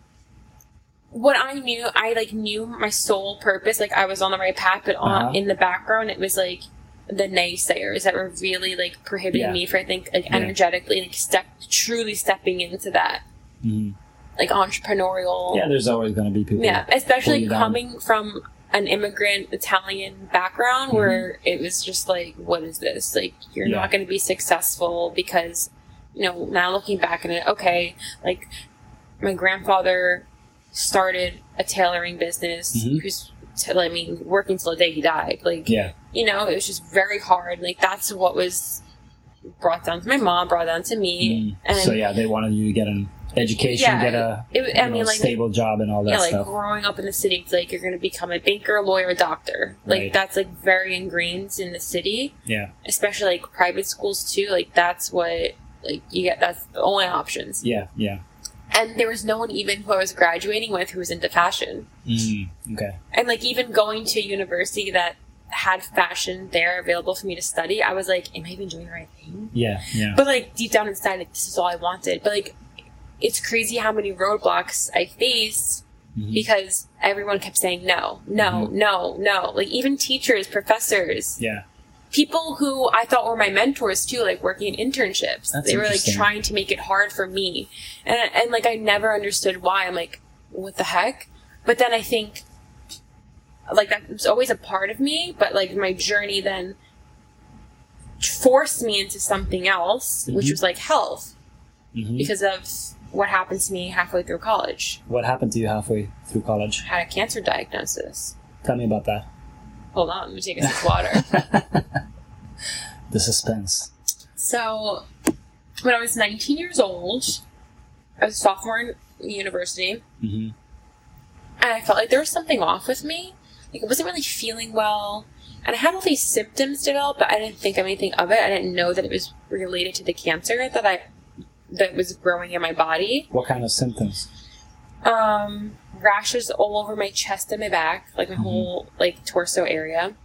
what I knew, I like knew my sole purpose. Like I was on the right path, but on Uh-huh. in the background, it was like the naysayers that were really like prohibiting Yeah. me from, I think, like Yeah. energetically, like step truly stepping into that, Mm-hmm. like entrepreneurial. Yeah, there's always going to be people. Yeah, pull especially you down. coming from an immigrant Italian background Mm-hmm. where it was just like, what is this? Like, you're Yeah. not going to be successful because, you know, now looking back at it, okay, like my grandfather started a tailoring business. Mhm. Who's, t- I mean, working till the day he died. Like, Yeah. you know, it was just very hard. Like, that's what was brought down to my mom, brought down to me. Mm. And So yeah, they wanted you to get an education, Yeah, get a it- I you mean, know, like- stable job and all that yeah, like stuff. growing up in the city, it's like you're going to become a banker, lawyer, doctor. Like Right. that's like very ingrained in the city, Yeah. especially like private schools too. Like that's what like you get. That's the only options. Yeah. Yeah. And there was no one even who I was graduating with who was into fashion. Mm. Okay. And like even going to a university that had fashion there available for me to study, I was like, am I even doing the right thing? Yeah. Yeah. But like deep down inside, like this is all I wanted. But like it's crazy how many roadblocks I faced Mhm. because everyone kept saying no, no, Mhm. no, no. Like even teachers, professors, Yeah. people who I thought were my mentors too, like working in internships. That's they were like interesting. trying to make it hard for me, and and like I never understood why. I'm like, what the heck? But then I think like that was always a part of me, but like my journey then forced me into something else, which Mhm. was like health, Mhm. because of what happened to me halfway through college. What happened to you halfway through college? I had a cancer diagnosis. Tell me about that. Hold on, let me take a sip of water. The suspense. So, when I was nineteen years old, I was a sophomore in university, hmm and I felt like there was something off with me. Like, I wasn't really feeling well, and I had all these symptoms develop, but I didn't think anything of it. I didn't know that it was related to the cancer that I that was growing in my body. What kind of symptoms? Um, rashes all over my chest and my back, like my Mhm. whole like torso area.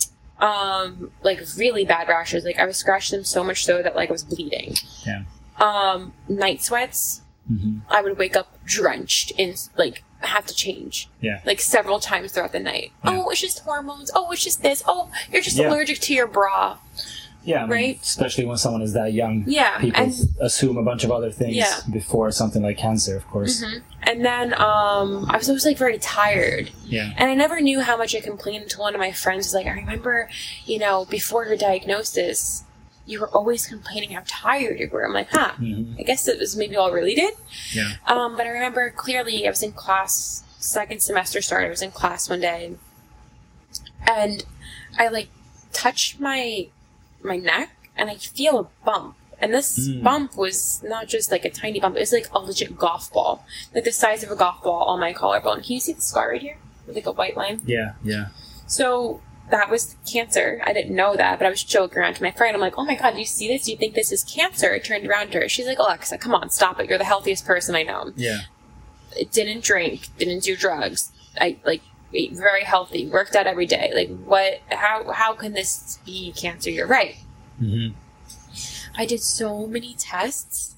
Um, like really bad rashes. Like I was scratching them so much so that like I was bleeding. Yeah. Um, night sweats. hmm I would wake up drenched in like have to change Yeah. like several times throughout the night. Yeah. Oh, it's just hormones. Oh, it's just this. Oh, you're just Yeah. allergic to your bra. Yeah. I mean, Right? especially when someone is that young. Yeah, People and assume a bunch of other things Yeah. before something like cancer, of course. mhm. and then um, I was always like very tired. Yeah. And I never knew how much I complained until one of my friends was like, I remember, you know, before your diagnosis, you were always complaining how tired you were. I'm like, huh, hmm I guess it was maybe all related. Yeah. Um, but I remember clearly I was in class, second semester started, I was in class one day, and I like touched my my neck, and I feel a bump. And this Mm. bump was not just like a tiny bump, it was like a legit golf ball. Like the size of a golf ball on my collarbone. Can you see the scar right here? With like a white line? Yeah. Yeah. So that was cancer. I didn't know that, but I was joking around to my friend. I'm like, oh my god, do you see this? Do you think this is cancer? I turned around to her. She's like, Alexa, come on, stop it. You're the healthiest person I know. Yeah. I didn't drink, didn't do drugs. I like ate very healthy, worked out every day. Like what how how can this be cancer? You're right. hmm I did so many tests.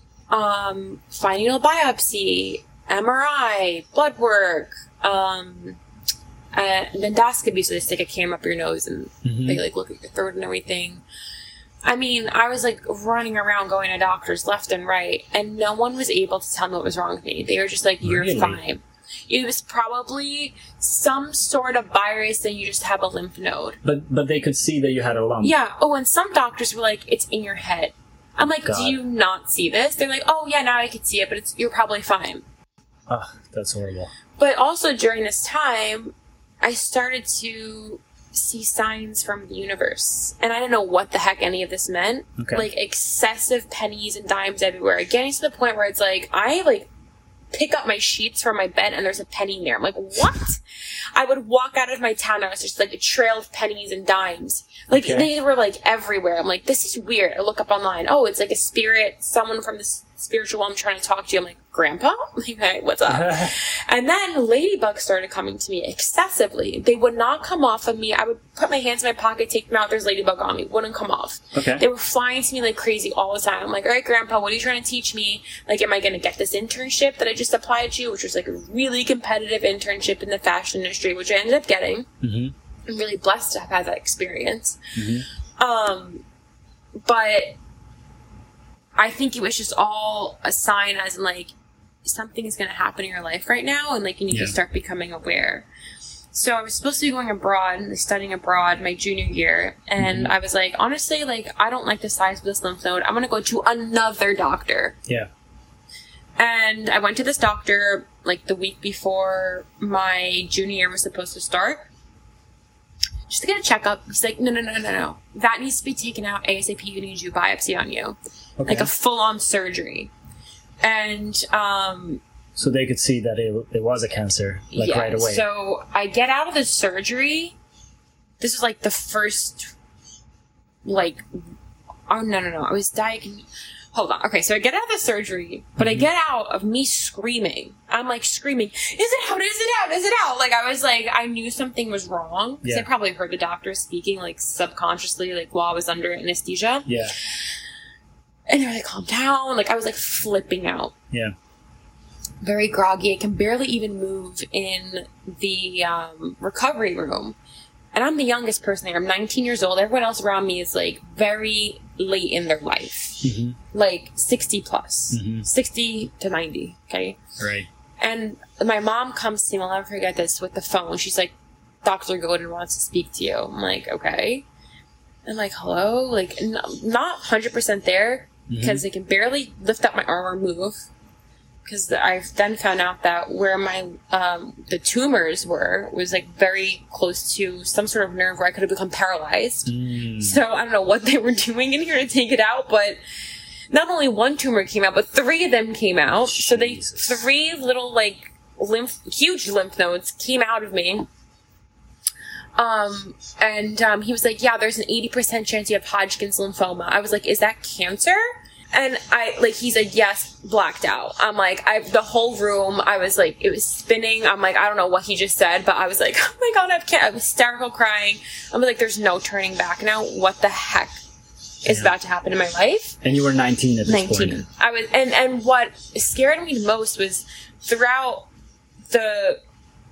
Um fine needle biopsy, M R I, blood work, um uh, endoscopy, so they stick a camera up your nose and hmm they like look at your throat and everything. I mean, I was like running around going to doctors left and right, and no one was able to tell me what was wrong with me. They were just like, you're Really? fine. It was probably some sort of virus that you just have a lymph node. But but they could see that you had a lump. Yeah. Oh, and some doctors were like, it's in your head. I'm like, God. do you not see this? They're like, oh yeah, now I can see it, but it's you're probably fine. Ugh, that's horrible. But also during this time, I started to see signs from the universe. And I didn't know what the heck any of this meant. Okay. Like excessive pennies and dimes everywhere. Getting to the point where it's like, I like pick up my sheets from my bed and there's a penny in there. I'm like, what? I would walk out of my town and it was just like a trail of pennies and dimes. Like Okay. they were like everywhere. I'm like, this is weird. I look up online. Oh, it's like a spirit, someone from this spiritual I'm trying to talk to you. I'm like, Grandpa? Okay, what's up? And then ladybugs started coming to me excessively. They would not come off of me. I would put my hands in my pocket, take them out. There's ladybug on me. Wouldn't come off. Okay. They were flying to me like crazy all the time. I'm like, all right, Grandpa, what are you trying to teach me? Like, am I going to get this internship that I just applied to, which was like a really competitive internship in the fashion industry, which I ended up getting. hmm I'm really blessed to have had that experience. Mm-hmm. Um, but I think it was just all a sign as in, like, something is going to happen in your life right now, and, like, you need Yeah. to start becoming aware. So I was supposed to be going abroad, studying abroad my junior year, and Mhm. I was like, honestly, like, I don't like the size of this lymph node. I'm going to go to another doctor. Yeah. And I went to this doctor, like, the week before my junior year was supposed to start, just to get a checkup. He's like, no, no, no, no, no. That needs to be taken out ASAP. You need to do biopsy on you. Okay. Like a full-on surgery. And, um... So they could see that it, it was a cancer, like, yeah, right away. So I get out of the surgery. This was, like, the first, like... Oh, no, no, no. I was diagnosed... Hold on. Okay, so I get out of the surgery, but I get out of me screaming. I'm, like, screaming, is it out? Is it out? Is it out? Like, I was, like, I knew something was wrong. Because Yeah. I probably heard the doctor speaking, like, subconsciously, like, while I was under anesthesia. Yeah. And they're like, calm down. Like, I was, like, flipping out. Yeah. Very groggy. I can barely even move in the um, recovery room. And I'm the youngest person there. I'm nineteen years old. Everyone else around me is, like, very late in their life. Mm-hmm. Like, sixty plus. Mhm. sixty to ninety, okay? Right. And my mom comes to me, I'll never forget this, with the phone. She's like, Doctor Godin wants to speak to you. I'm like, okay. I'm like, hello? Like, n- not one hundred percent there, because Mhm. I can barely lift up my arm or move. Because I've then found out that where my, um, the tumors were, was, like, very close to some sort of nerve where I could have become paralyzed. Mm. So I don't know what they were doing in here to take it out, but not only one tumor came out, but three of them came out. So they, Jesus. three little, like, lymph, huge lymph nodes came out of me. Um, and, um, he was like, yeah, there's an eighty percent chance you have Hodgkin's lymphoma. I was like, is that cancer? And I, like, he's like, yes, blacked out. I'm like, I, the whole room, I was like, it was spinning. I'm like, I don't know what he just said, but I was like, oh my God, I can't, I'm hysterical crying. I'm like, there's no turning back now. What the heck is Yeah. about to happen in my life? And you were nineteen at this nineteen. point. I was, and, and what scared me the most was throughout the,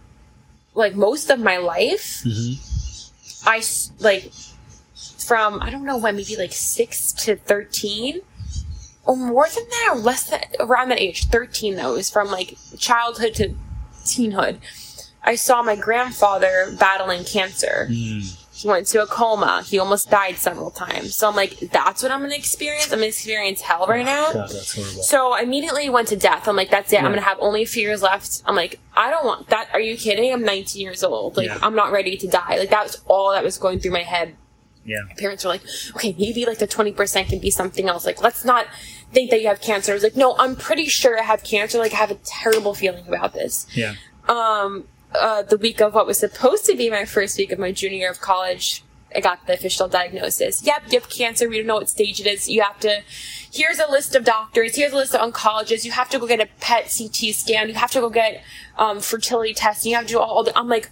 like, most of my life, Mm-hmm. I, s- like, from, I don't know when, maybe like six to thirteen, or more than that, or less than, around that age, thirteen though, it was from, like, childhood to teenhood, I saw my grandfather battling cancer. Mm. He went into a coma. He almost died several times. So I'm like, that's what I'm going to experience? I'm going to experience hell right now? God, that's horrible. So I immediately went to death. I'm like, that's it. Yeah. I'm going to have only a few years left. I'm like, I don't want that. Are you kidding? I'm nineteen years old. Like, Yeah. I'm not ready to die. Like, that was all that was going through my head. Yeah. My parents were like, okay, maybe like the twenty percent can be something else. Like, let's not think that you have cancer. I was like, no, I'm pretty sure I have cancer. Like, I have a terrible feeling about this. Yeah. Um, uh, the week of what was supposed to be my first week of my junior year of college, I got the official diagnosis. Yep, you have cancer. We don't know what stage it is. You have to, here's a list of doctors. Here's a list of oncologists. You have to go get a P E T C T scan. You have to go get, um, fertility testing. You have to do all the, I'm like,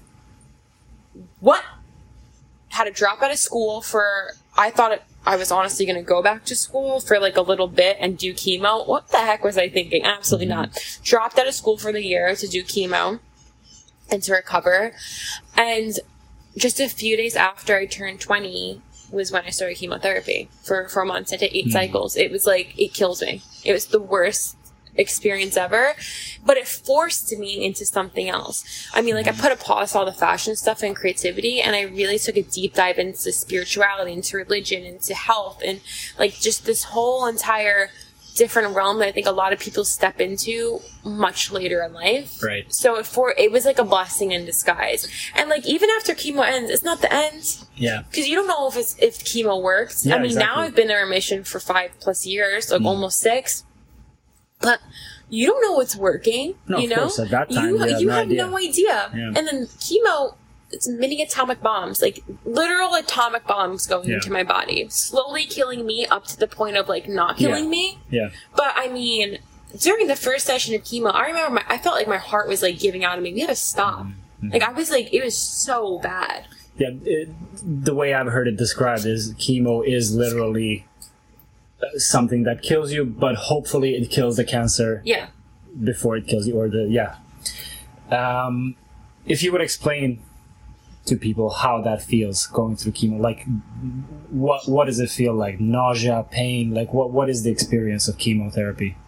what? Had to drop out of school for, I thought it, I was honestly going to go back to school for like a little bit and do chemo. What the heck was I thinking? Absolutely Mm-hmm. not. Dropped out of school for the year to do chemo and to recover. And just a few days after I turned twenty was when I started chemotherapy for four months. I did eight Mm. cycles. It was like, it kills me. It was the worst experience ever, but it forced me into something else. I mean, like, I put a pause to all the fashion stuff and creativity, and I really took a deep dive into spirituality, into religion, into health, and like just this whole entire different realm that I think a lot of people step into much later in life. Right. So it for it was like a blessing in disguise. And like, even after chemo ends, it's not the end. Yeah. Because you don't know if it's, if chemo works. Yeah, I mean, now exactly. I've been in remission for five plus years, like Mm. almost six. But you don't know what's working. No, you of know, course, at that time, you, you have you no have idea. no idea. Yeah. And then chemo, it's mini atomic bombs, like literal atomic bombs going Yeah. into my body, slowly killing me up to the point of like not killing Yeah. me. Yeah. But I mean, during the first session of chemo, I remember my, I felt like my heart was like giving out of me. We had to stop. Mm-hmm. Like, I was like, it was so bad. Yeah. It, the way I've heard it described is chemo is literally uh, something that kills you, but hopefully it kills the cancer Yeah. before it kills you, or the yeah. Um, if you would explain to people how that feels going through chemo. Like, what what does it feel like? Nausea, pain? Like, what what is the experience of chemotherapy?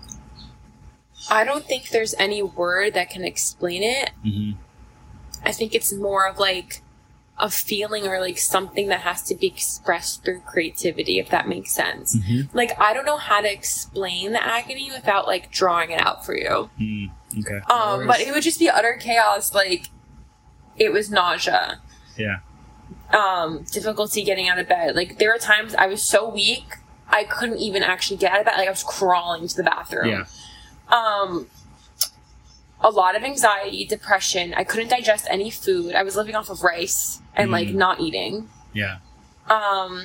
I don't think there's any word that can explain it. Mm-hmm. I think it's more of like a feeling or like something that has to be expressed through creativity, if that makes sense. Mm-hmm. Like, I don't know how to explain the agony without like drawing it out for you. Mm, okay. Um, but it would just be utter chaos. Like, it was nausea. Yeah. Um, difficulty getting out of bed. Like, there were times I was so weak, I couldn't even actually get out of bed. Like, I was crawling to the bathroom. Yeah. Um, a lot of anxiety, depression. I couldn't digest any food. I was living off of rice and, mm. like, not eating. Yeah. Um,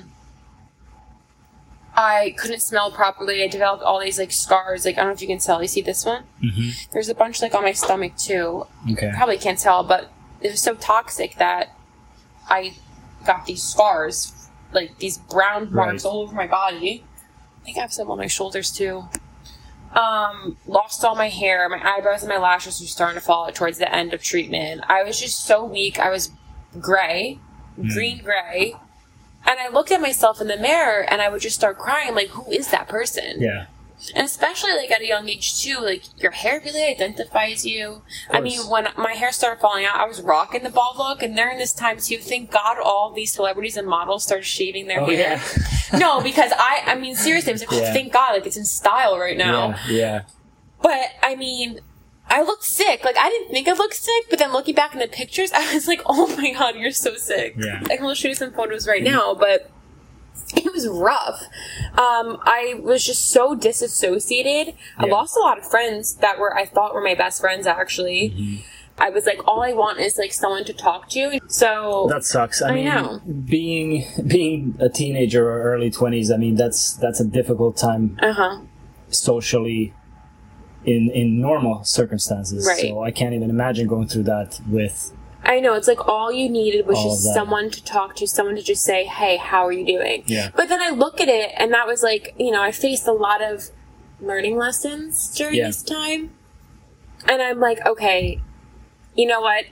I couldn't smell properly. I developed all these, like, scars. Like, I don't know if you can tell. You see this one? Mm-hmm. There's a bunch, like, on my stomach, too. Okay. Probably can't tell, but it was so toxic that I got these scars, like, these brown marks right. all over my body. I think I have some on my shoulders, too. Um, lost all my hair. My eyebrows and my lashes were starting to fall out towards the end of treatment. I was just so weak. I was gray, mm. green gray. And I looked at myself in the mirror and I would just start crying. I'm like, who is that person? Yeah. And especially, like, at a young age, too, like, your hair really identifies you. I mean, when my hair started falling out, I was rocking the bald look, and during this time, too, thank God all these celebrities and models started shaving their oh, hair. Yeah. No, because I, I mean, seriously, I was like, oh, yeah. thank God, like, it's in style right now. Yeah, yeah. But, I mean, I looked sick. Like, I didn't think I looked sick, but then looking back in the pictures, I was like, oh my God, you're so sick. Yeah. I can show you some photos right mm-hmm. now, but it was rough. Um, I was just so disassociated. Yeah. I lost a lot of friends that were, I thought were my best friends, actually. Mm-hmm. I was like, all I want is, like, someone to talk to. So that sucks. I, I mean, know. being being a teenager or early twenties, I mean, that's that's a difficult time uh-huh. socially in in normal circumstances. Right. So I can't even imagine going through that with... I know, it's like all you needed was all just someone to talk to, someone to just say, hey, how are you doing? Yeah. But then I look at it, and that was like, you know, I faced a lot of learning lessons during yeah. this time. And I'm like, okay, you know what?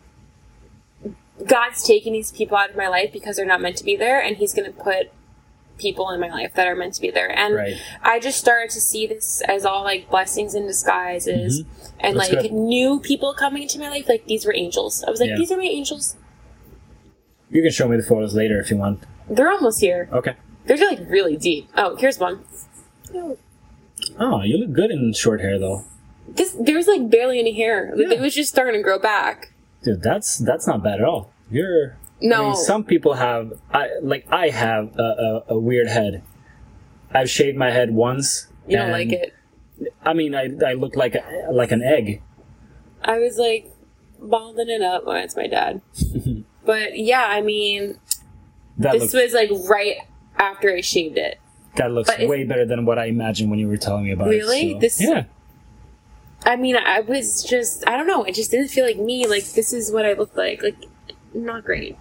God's taking these people out of my life because they're not meant to be there, and He's going to put people in my life that are meant to be there. And right. I just started to see this as all, like, blessings in disguises. Mm-hmm. And, That's like, good. new people coming into my life, like, these were angels. I was like, yeah. these are my angels. You can show me the photos later if you want. They're almost here. Okay. They're, like, really deep. Oh, here's one. Oh, you look good in short hair, though. This, there was, like, barely any hair. Like, Yeah. it was just starting to grow back. Dude, that's that's not bad at all. You're... No. I mean, some people have... I like, I have a, a, a weird head. I've shaved my head once. You don't like it? I mean, I I look like a, like an egg. I was, like, balding it up. Oh, it's my dad. But, yeah, I mean, that this looks, was, like, right after I shaved it. That looks But way better than what I imagined when you were telling me about really? it. So, This, yeah. I mean, I was just, I don't know, it just didn't feel like me. Like, this is what I looked like. Like, not great.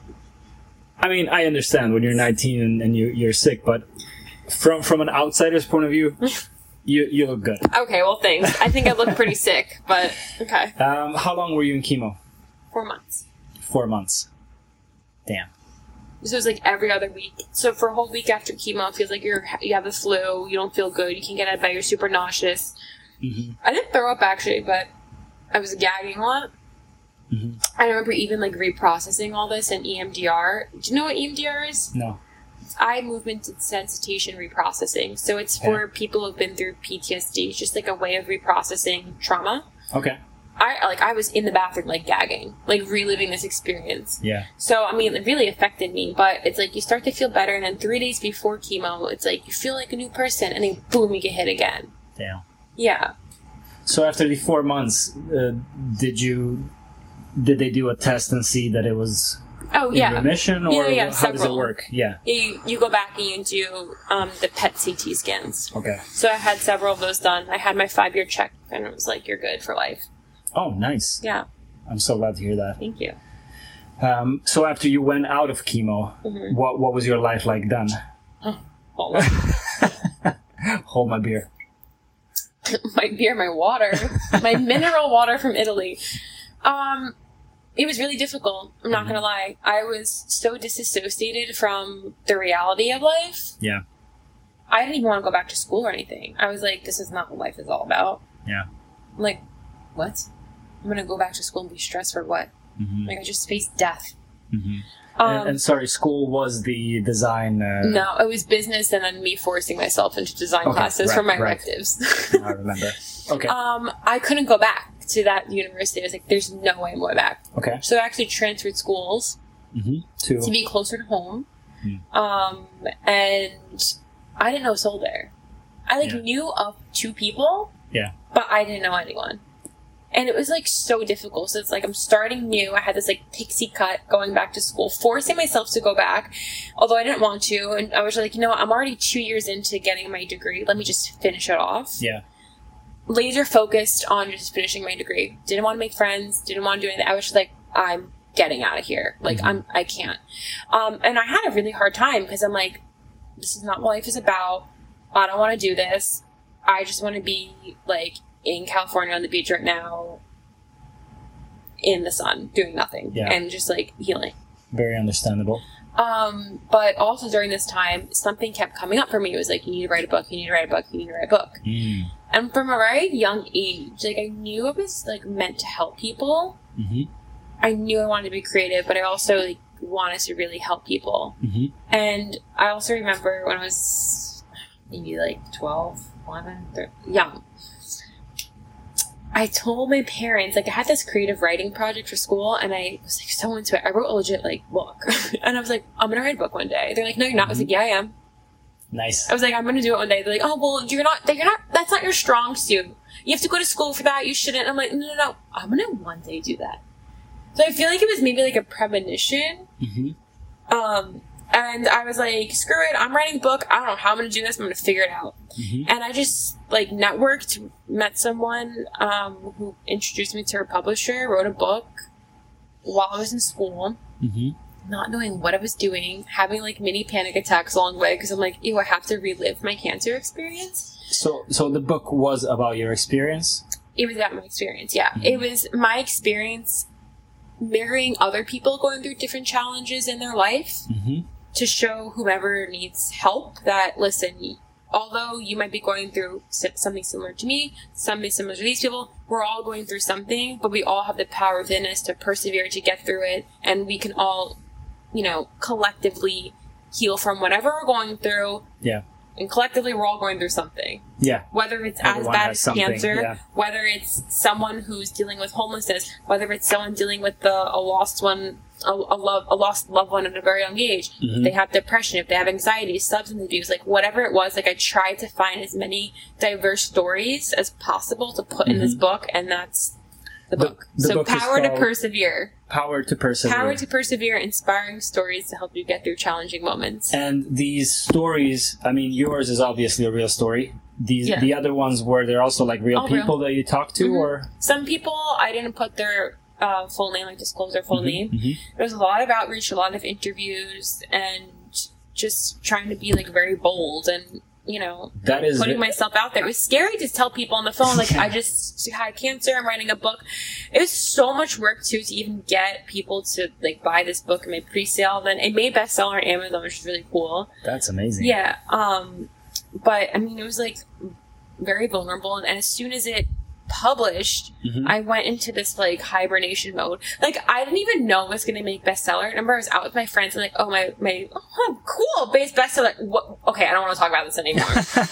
I mean, I understand when you're nineteen and, and you, you're sick, but from from an outsider's point of view, you you look good. Okay, well, thanks. I think I look pretty sick, but okay. Um, how long were you in chemo? Four months. Four months. Damn. So it was like every other week. So for a whole week after chemo, it feels like you're you have the flu, you don't feel good, you can't get out of bed, you're super nauseous. Mm-hmm. I didn't throw up, actually, but I was gagging a lot. Mm-hmm. I remember even, like, reprocessing all this in E M D R. Do you know what E M D R is? No. It's eye movement desensitization reprocessing. So it's for yeah. people who've been through P T S D. It's just, like, a way of reprocessing trauma. Okay. I, like, I was in the bathroom, like, gagging. Like, reliving this experience. Yeah. So, I mean, it really affected me. But it's like, you start to feel better, and then three days before chemo, it's like, you feel like a new person, and then, boom, you get hit again. Damn. Yeah. So after the four months, uh, did you... Did they do a test and see that it was oh, in yeah. remission, or yeah, yeah, how several. does it work? Yeah. yeah you, you go back and you do um, the P E T C T scans. Okay. So I had several of those done. I had my five-year check, and it was like, you're good for life. Oh, nice. Yeah. I'm so glad to hear that. Thank you. Um, so after you went out of chemo, mm-hmm. what what was your life like then? Oh, hold on. Hold my beer. My beer, my water. My mineral water from Italy. Um... it was really difficult. I'm not Mm-hmm. gonna lie. I was so disassociated from the reality of life. Yeah. I didn't even want to go back to school or anything. I was like, this is not what life is all about. Yeah. I'm like, what? I'm gonna go back to school and be stressed for what? Mm-hmm. Like, I just faced death. Mm-hmm. Um, and, and sorry, school was the design. Uh, no, it was business, and then me forcing myself into design Okay, classes right, for my right. electives. I remember. Okay. um, I couldn't go back to that university. I was like, there's no way I'm going back. Okay. So I actually transferred schools Mm-hmm. To. to be closer to home. Mm. Um, and I didn't know a soul there. I like Yeah. knew of two people, Yeah. but I didn't know anyone. And it was like so difficult. So it's like I'm starting new. I had this like pixie cut going back to school, forcing myself to go back, although I didn't want to. And I was like, you know what? I'm already two years into getting my degree. Let me just finish it off. Yeah. Laser focused on just finishing my degree. Didn't want to make friends. Didn't want to do anything. I was just like, I'm getting out of here. Like Mhm. I'm, I can't. Um, and I had a really hard time because I'm like, this is not what life is about. I don't want to do this. I just want to be like in California on the beach right now, in the sun, doing nothing, Yeah. and just like healing. Very understandable. Um, but also during this time, something kept coming up for me. It was like, you need to write a book. You need to write a book. You need to write a book. Mm. And from a very young age, like I knew I was like meant to help people. Mm-hmm. I knew I wanted to be creative, but I also like wanted to really help people. Mm-hmm. And I also remember when I was maybe like twelve, eleven, thirteen, young, I told my parents, like I had this creative writing project for school and I was like so into it. I wrote a legit like book. And I was like, I'm going to write a book one day. They're like, no, you're not. I was like, yeah, I am. Nice. I was like, I'm going to do it one day. They're like, oh, well, you're not, you're not, that's not your strong suit. You have to go to school for that. You shouldn't. I'm like, no, no, no. I'm going to one day do that. So I feel like it was maybe like a premonition. Mm-hmm. Um, and I was like, screw it. I'm writing a book. I don't know how I'm going to do this. I'm going to figure it out. Mm-hmm. And I just like networked, met someone, um, who introduced me to her publisher, wrote a book while I was in school, Mm-hmm. not knowing what I was doing, having like mini panic attacks along the way. Cause I'm like, ew, I have to relive my cancer experience. So, so the book was about your experience. It was about my experience. Yeah. Mhm. It was my experience mirroring other people going through different challenges in their life. Mm-hmm. To show whomever needs help that, listen, although you might be going through something similar to me, something similar to these people, we're all going through something, but we all have the power within us to persevere, to get through it, and we can all, you know, collectively heal from whatever we're going through. Yeah. And collectively, we're all going through something. Yeah. Whether it's as Everyone bad has as something, cancer, yeah. whether it's someone who's dealing with homelessness, whether it's someone dealing with the, a lost one, a, a, love, a lost loved one at a very young age, Mhm. if they have depression, if they have anxiety, substance abuse, like whatever it was, like I tried to find as many diverse stories as possible to put in this Mhm. book, and that's the The- book. the so book is Power to called Persevere. Power to persevere. Power to Persevere, inspiring stories to help you get through challenging moments. And these stories, I mean, yours is obviously a real story. These Yeah. the other ones were there also like real All real. people that you talked to, Mhm. or Some people, I didn't put their uh, full name, like disclose their full name. Mhm. There was a lot of outreach, a lot of interviews, and just trying to be like very bold and, you know, That is putting myself out there. It was scary to tell people on the phone, like, I just had cancer, I'm writing a book. It was so much work too to even get people to like buy this book and make pre-sale. Then it made bestseller on Amazon, which is really cool. that's amazing. Yeah. Um, but I mean, it was like very vulnerable, and, and as soon as it published, Mhm. I went into this like hibernation mode. Like I didn't even know it was going to make bestseller. I remember I was out with my friends and like, oh my my, oh cool, base bestseller. What? Okay, I don't want to talk about this anymore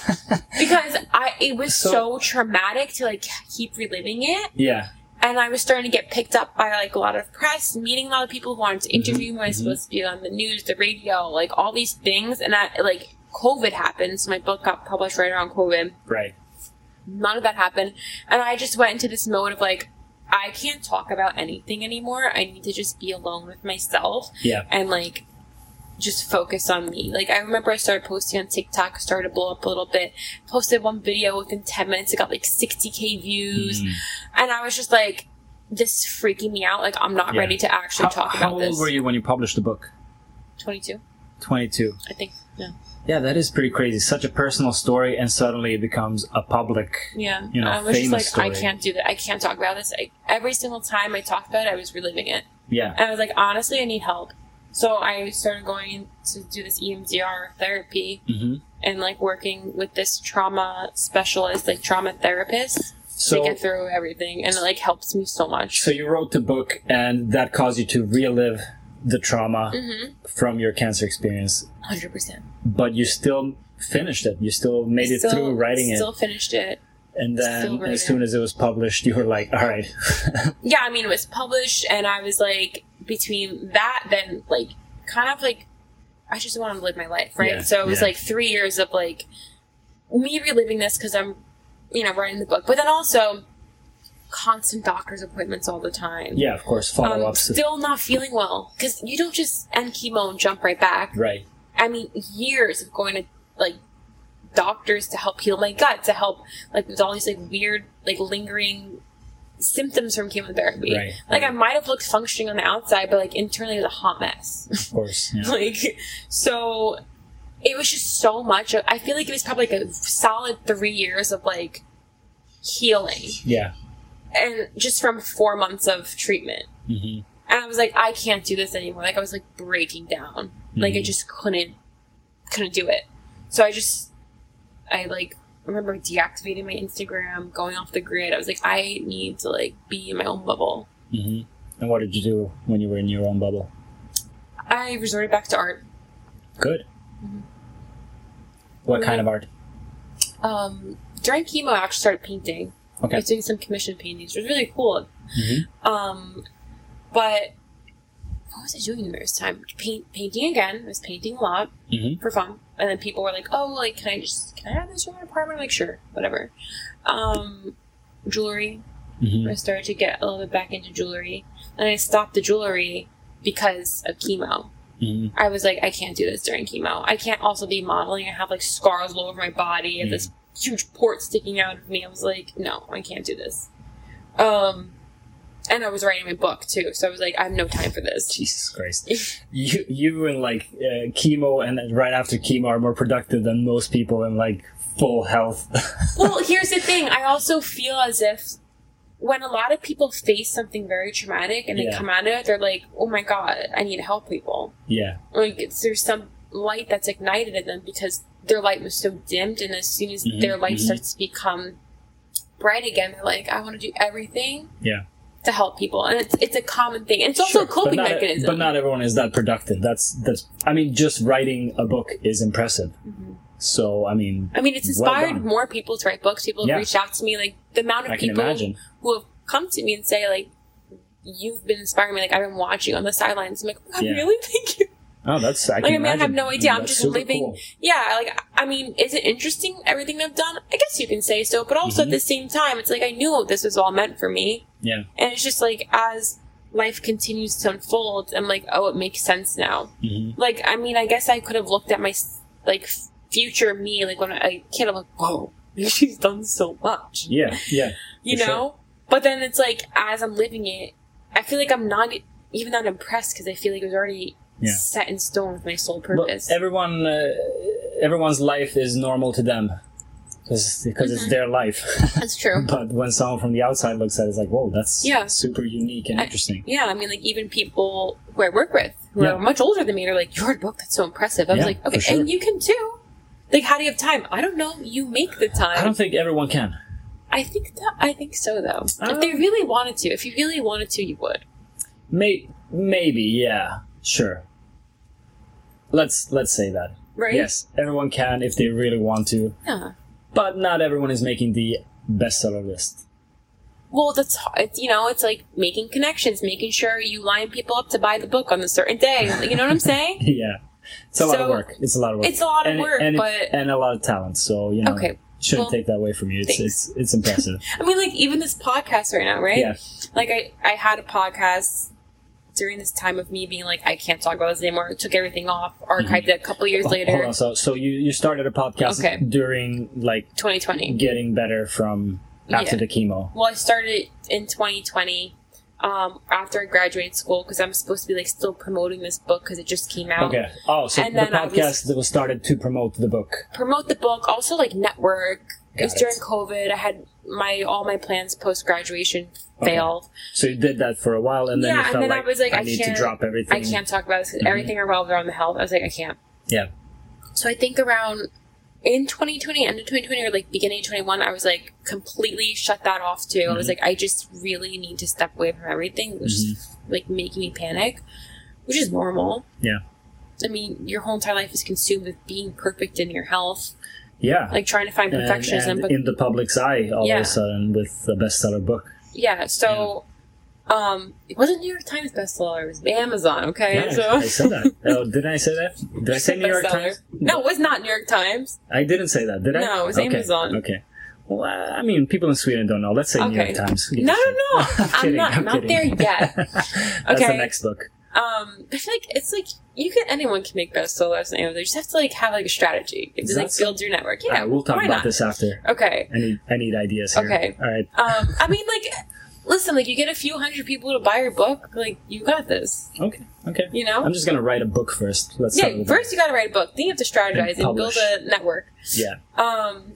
because I it was So- so, traumatic to like keep reliving it. Yeah. And I was starting to get picked up by like a lot of press, meeting a lot of people who wanted to interview me. I was mhm. supposed to be on the news, the radio, like all these things. And I like COVID happened, so my book got published right around COVID. Right. None of that happened. And I just went into this mode of like, I can't talk about anything anymore. I need to just be alone with myself Yeah. and like just focus on me. Like I remember I started posting on TikTok, started to blow up a little bit, posted one video within ten minutes, it got like sixty K views. Mhm. And I was just like, this is freaking me out. Like I'm not Yeah. ready to actually How, talk how about old this. were you when you published the book? twenty-two, twenty-two. I think. Yeah. Yeah, that is pretty crazy. Such a personal story, and suddenly it becomes a public. Yeah. You know, I was just famous like, I story. can't do that. I can't talk about this. I, every single time I talked about it, I was reliving it. Yeah. And I was like, honestly, I need help. So I started going to do this E M D R therapy Mm-hmm. and like working with this trauma specialist, like trauma therapist, So, to get through everything. And it like helps me so much. so you wrote the book, and that caused you to relive the trauma Mm-hmm. from your cancer experience, one hundred percent. but you still finished it. You still made it Still- through writing Still it. finished it. And still then wrote as it. soon as it was published, you were like, all right. Yeah, I mean, it was published, and I was like, between that, then like, kind of like, I just wanted to live my life, right? Yeah, So it was yeah. like three years of like me reliving this because I'm, you know, writing the book, but then also constant doctor's appointments all the time. Yeah, of course, Um, follow-ups. still not feeling well because you don't just end chemo and jump right back. Right. I mean, years of going to like doctors to help heal my gut, to help like with all these like weird like lingering symptoms from chemotherapy. Right, Like right. I might have looked functioning on the outside, but like internally it was a hot mess. Of course. Yeah. like so, it was just so much. I feel like it was probably like a solid three years of like healing, Yeah. and just from four months of treatment. Mm-hmm. And I was like, I can't do this anymore. Like I was like breaking down. Like I Mhm. just couldn't, couldn't do it. So I just, I like remember deactivating my Instagram, going off the grid. I was like, I need to like be in my own bubble. Mm-hmm. And what did you do when you were in your own bubble? I resorted back to art. Good. Mm-hmm. What Yeah. kind of art? Um, during chemo, I actually started painting. I Okay. was doing some commission paintings. It was really cool. Mm-hmm. Um, but what was I doing in this time? Paint, painting again. I was painting a lot. Mm-hmm. For fun. And then people were like, oh, like, can I just, can I have this in my apartment? I'm like, sure, whatever. Um, jewelry. Mm-hmm. I started to get a little bit back into jewelry. And I stopped the jewelry because of chemo. Mm-hmm. I was like, I can't do this during chemo. I can't also be modeling. I have, like, scars all over my body. I have this huge port sticking out of me. I was like, no, I can't do this. Um, and I was writing my book, too. So I was like, I have no time for this. Jesus Christ. you you and like uh, chemo and then right after chemo are more productive than most people in like full health. Well, here's the thing. I also feel as if when a lot of people face something very traumatic and they Yeah. come out of it, they're like, oh my God, I need to help people. Yeah. Like, it's, there's some light that's ignited in them because their light was so dimmed, and as soon as Mhm, their light mhm. starts to become bright again, they're like, I want to do everything Yeah. to help people. And it's it's a common thing. And it's also Sure, a coping but not, mechanism. But not everyone is that productive. That's that's. I mean, just writing a book is impressive. Mhm. So I mean, I mean, it's well inspired done. more people to write books. People have Yeah. reached out to me. Like, the amount of I can people imagine. who have come to me and say, like, you've been inspiring me. Like, I've been watching you on the sidelines. I'm like, oh, God, Yeah. really? Thank you. Oh, that's. I can Like, I mean, imagine. I have no idea. I'm That's just super living. cool. Yeah, like, I mean, is it interesting, everything I've done? I guess you can say so. But also Mhm. at the same time, it's like I knew this was all meant for me. Yeah. And it's just like, as life continues to unfold, I'm like, oh, it makes sense now. hmm Like, I mean, I guess I could have looked at my, like, future me, like, when I was a kid, I'm like, whoa, she's done so much. Yeah. Yeah. You For know? But then it's like, as I'm living it, I feel like I'm not even not impressed because I feel like it was already Yeah. set in stone with my sole But purpose. everyone, uh, everyone's life is normal to them because because Mhm. it's their life. That's true. But when someone from the outside looks at it, it's like, whoa, that's Yeah. super unique and I- interesting. Yeah, I mean, like, even people who I work with who Yeah. are much older than me are like, your book, that's so impressive. I was Yeah, like, okay, for sure. and you can too. Like, how do you have time? I don't know. You make the time. I don't think everyone can. I think that, I think so, though. Um, if they really wanted to, if you really wanted to, you would. May- maybe, yeah, sure. Let's let's say that. Right? Yes, everyone can if they really want to, Yeah. but not everyone is making the bestseller list. Well, that's, it's, you know, it's like making connections, making sure you line people up to buy the book on a certain day. You know what I'm saying? Yeah, it's a lot of So, work. It's a lot of work. it's a lot of and, work, and, but- and a lot of talent. So you know, Okay, shouldn't well, take that away from you. It's thanks. it's it's impressive. I mean, like, even this podcast right now, right? Yeah. Like, I, I had a podcast during this time of me being like, I can't talk about this anymore. I took everything off, archived it a couple years Hold later. on. So so you you started a podcast Okay. during like twenty twenty. getting better from after Yeah. the chemo. Well, I started in twenty twenty um, after I graduated school because I'm supposed to be like still promoting this book because it just came out. Okay. Oh, so And the then I was- podcast that was started to promote the book. Promote the book, also like network. It was Got it. during COVID. I had my all my plans post graduation Okay. failed. So you did that for a while, and then Yeah, you and felt then I like, was like, I I need to can't- drop everything. I can't talk about this. 'Cause Mhm. everything revolved around the health. I was like, I can't. Yeah. So I think around in twenty twenty, end of twenty twenty, or like beginning of twenty-one, I was like completely shut that off too. I was Mhm. like, I just really need to step away from everything. It was just like making me panic, which is normal. Yeah. I mean, your whole entire life is consumed with being perfect in your health, Yeah. like trying to find and, perfectionism. and but in the public's eye, all Yeah. of a sudden, with a bestseller book. yeah, so um, it wasn't New York Times bestseller. It was Amazon. Okay, Yeah, so I said that. Oh, didn't I say that? Did I say New York Bestseller. Times? No, it was not New York Times. I didn't say that, did I? No, it was okay. Amazon. Okay. Well, uh, I mean, people in Sweden don't know. Let's say New York Okay. Times. No, no, no. I'm, I'm kidding, not- I'm not kidding. there yet. That's Okay. the next book. Um, I feel like it's like you can anyone can make bestsellers and Amazon. You just have to like have like a strategy. It Is just that like so? build your network. Yeah, All right, we'll talk why about not? this after. Okay. I need, I need ideas here. Okay. All right. Um, I mean, like, listen, like you get a few hundred people to buy your book, like you got this. Okay. Okay. You know. I'm just gonna write a book first. Let's start Yeah. with First, you got to write a book. Then you have to strategize And and, build publish. a network. that. Yeah. Um,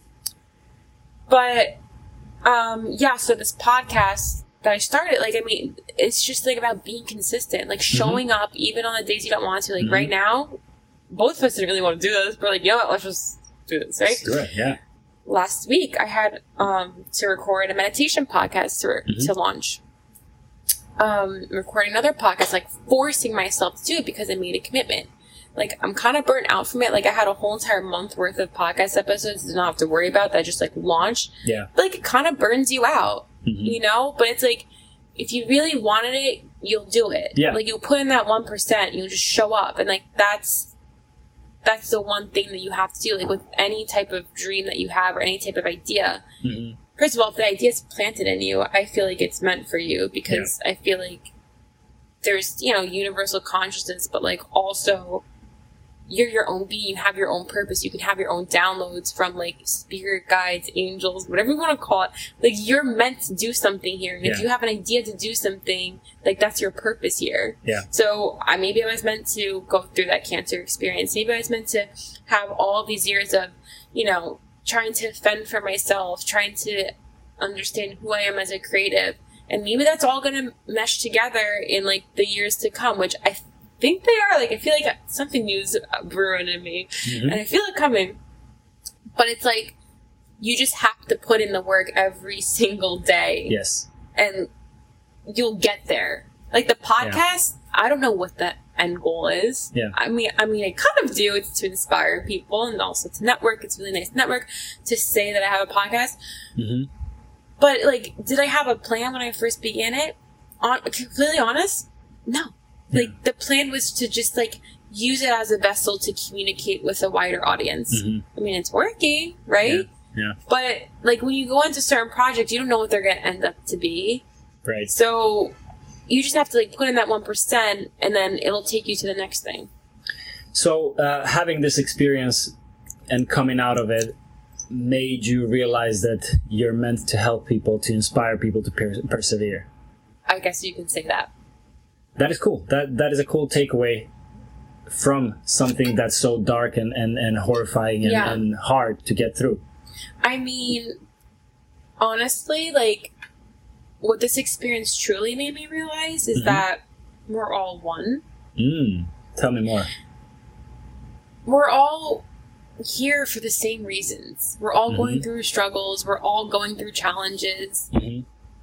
but um, yeah. So this podcast that I started, like, I mean, it's just like about being consistent, like showing up even on the days you don't want to. Like Mhm. right now, both of us didn't really want to do this, but like, you know what? Let's just do this, right? Let's do it. Yeah. Last week, I had um, to record a meditation podcast to, Mhm. to launch. Um, recording another podcast, like forcing myself to do it because I made a commitment. Like, I'm kind of burnt out from it. Like, I had a whole entire month worth of podcast episodes to not have to worry about that I just like launched. Yeah. But, like, it kind of burns you out, Mhm. you know? But it's like, if you really wanted it, you'll do it. Yeah. Like, you'll put in that one percent, you'll just show up. And, like, that's, that's the one thing that you have to do. Like, with any type of dream that you have or any type of idea. Mhm. First of all, if the idea is planted in you, I feel like it's meant for you because I feel like there's, you know, universal consciousness, but like also you're your own being, you have your own purpose, you can have your own downloads from like spirit guides, angels, whatever you want to call it. Like you're meant to do something here. And if Yeah. you have an idea to do something, like that's your purpose here. Yeah. So I maybe I was meant to go through that cancer experience. Maybe I was meant to have all these years of, you know, trying to fend for myself, trying to understand who I am as a creative. And maybe that's all going to mesh together in like the years to come, which I think they are. Like, I feel like something new is brewing in me Mhm. and I feel it coming. But it's like, you just have to put in the work every single day Yes. and you'll get there. Like the podcast, I don't know what the end goal is. Yeah. I mean, I mean, I kind of do. It's to inspire people and also to network. It's a really nice network to say that I have a podcast. hmm But like, did I have a plan when I first began it? On completely honest, no. Yeah. Like the plan was to just like use it as a vessel to communicate with a wider audience. hmm I mean, it's working, right? Yeah. But like when you go into certain projects, you don't know what they're going to end up to be. Right. So you just have to like put in that one percent and then it'll take you to the next thing. So uh, having this experience and coming out of it made you realize that you're meant to help people, to inspire people to per- persevere. I guess you can say that. That is cool. That that is a cool takeaway from something that's so dark and, and, and horrifying and, Yeah. and hard to get through. I mean, honestly, like, what this experience truly made me realize is Mhm. that we're all one. Mm. Tell me more. We're all here for the same reasons. We're all going Mhm. through struggles. We're all going through challenges. hmm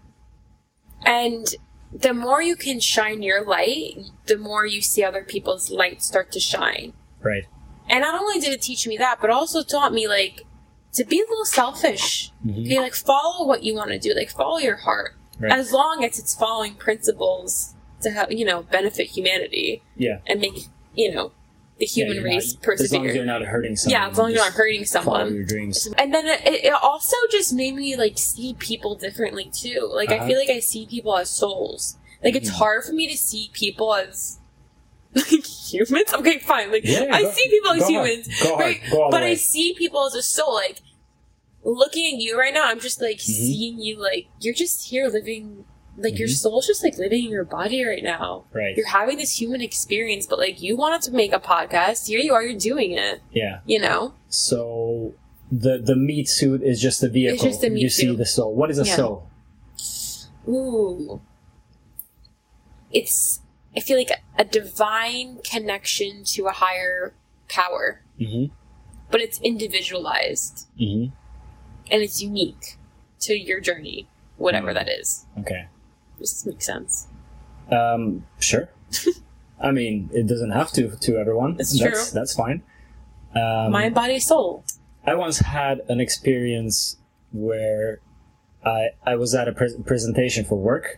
And the more you can shine your light, the more you see other people's light start to shine. Right. And not only did it teach me that, but also taught me, like, to be a little selfish. Mhm. Okay, like, follow what you want to do. Like, follow your heart. Right. As long as it's following principles to have, you know, benefit humanity Yeah. and make, you know, the human Yeah, you're race not- persevere. As long as you're not hurting someone. Yeah, as long as you're not just hurting Follow someone. your dreams. And then it, it also just made me, like, see people differently, too. Like, Uh-huh. I feel like I see people as souls. Like, it's Mhm. hard for me to see people as, like, humans? Okay, fine. Like, Yeah, I go- see people as go hard. humans. Go hard. Right? Go all the But I way. see people as a soul. Like, looking at you right now, I'm just, like, Mm-hmm. seeing you, like, you're just here living, like, your Mhm. soul's just, like, living in your body right now. Right. You're having this human experience, but, like, you wanted to make a podcast. Here you are, you're doing it, Yeah. you know? So the the meat suit is just the vehicle. It's just the meat you see suit. the soul. What is a Yeah. soul? Ooh. It's, I feel like a divine connection to a higher power, Mm-hmm. but it's individualized Mm-hmm. and it's unique to your journey, whatever Mm. that is. Okay. Does this make sense? Um, sure. I mean, it doesn't have to to everyone. It's that's, true. That's fine. Um, Mind, body, soul. I once had an experience where I I was at a pre- presentation for work,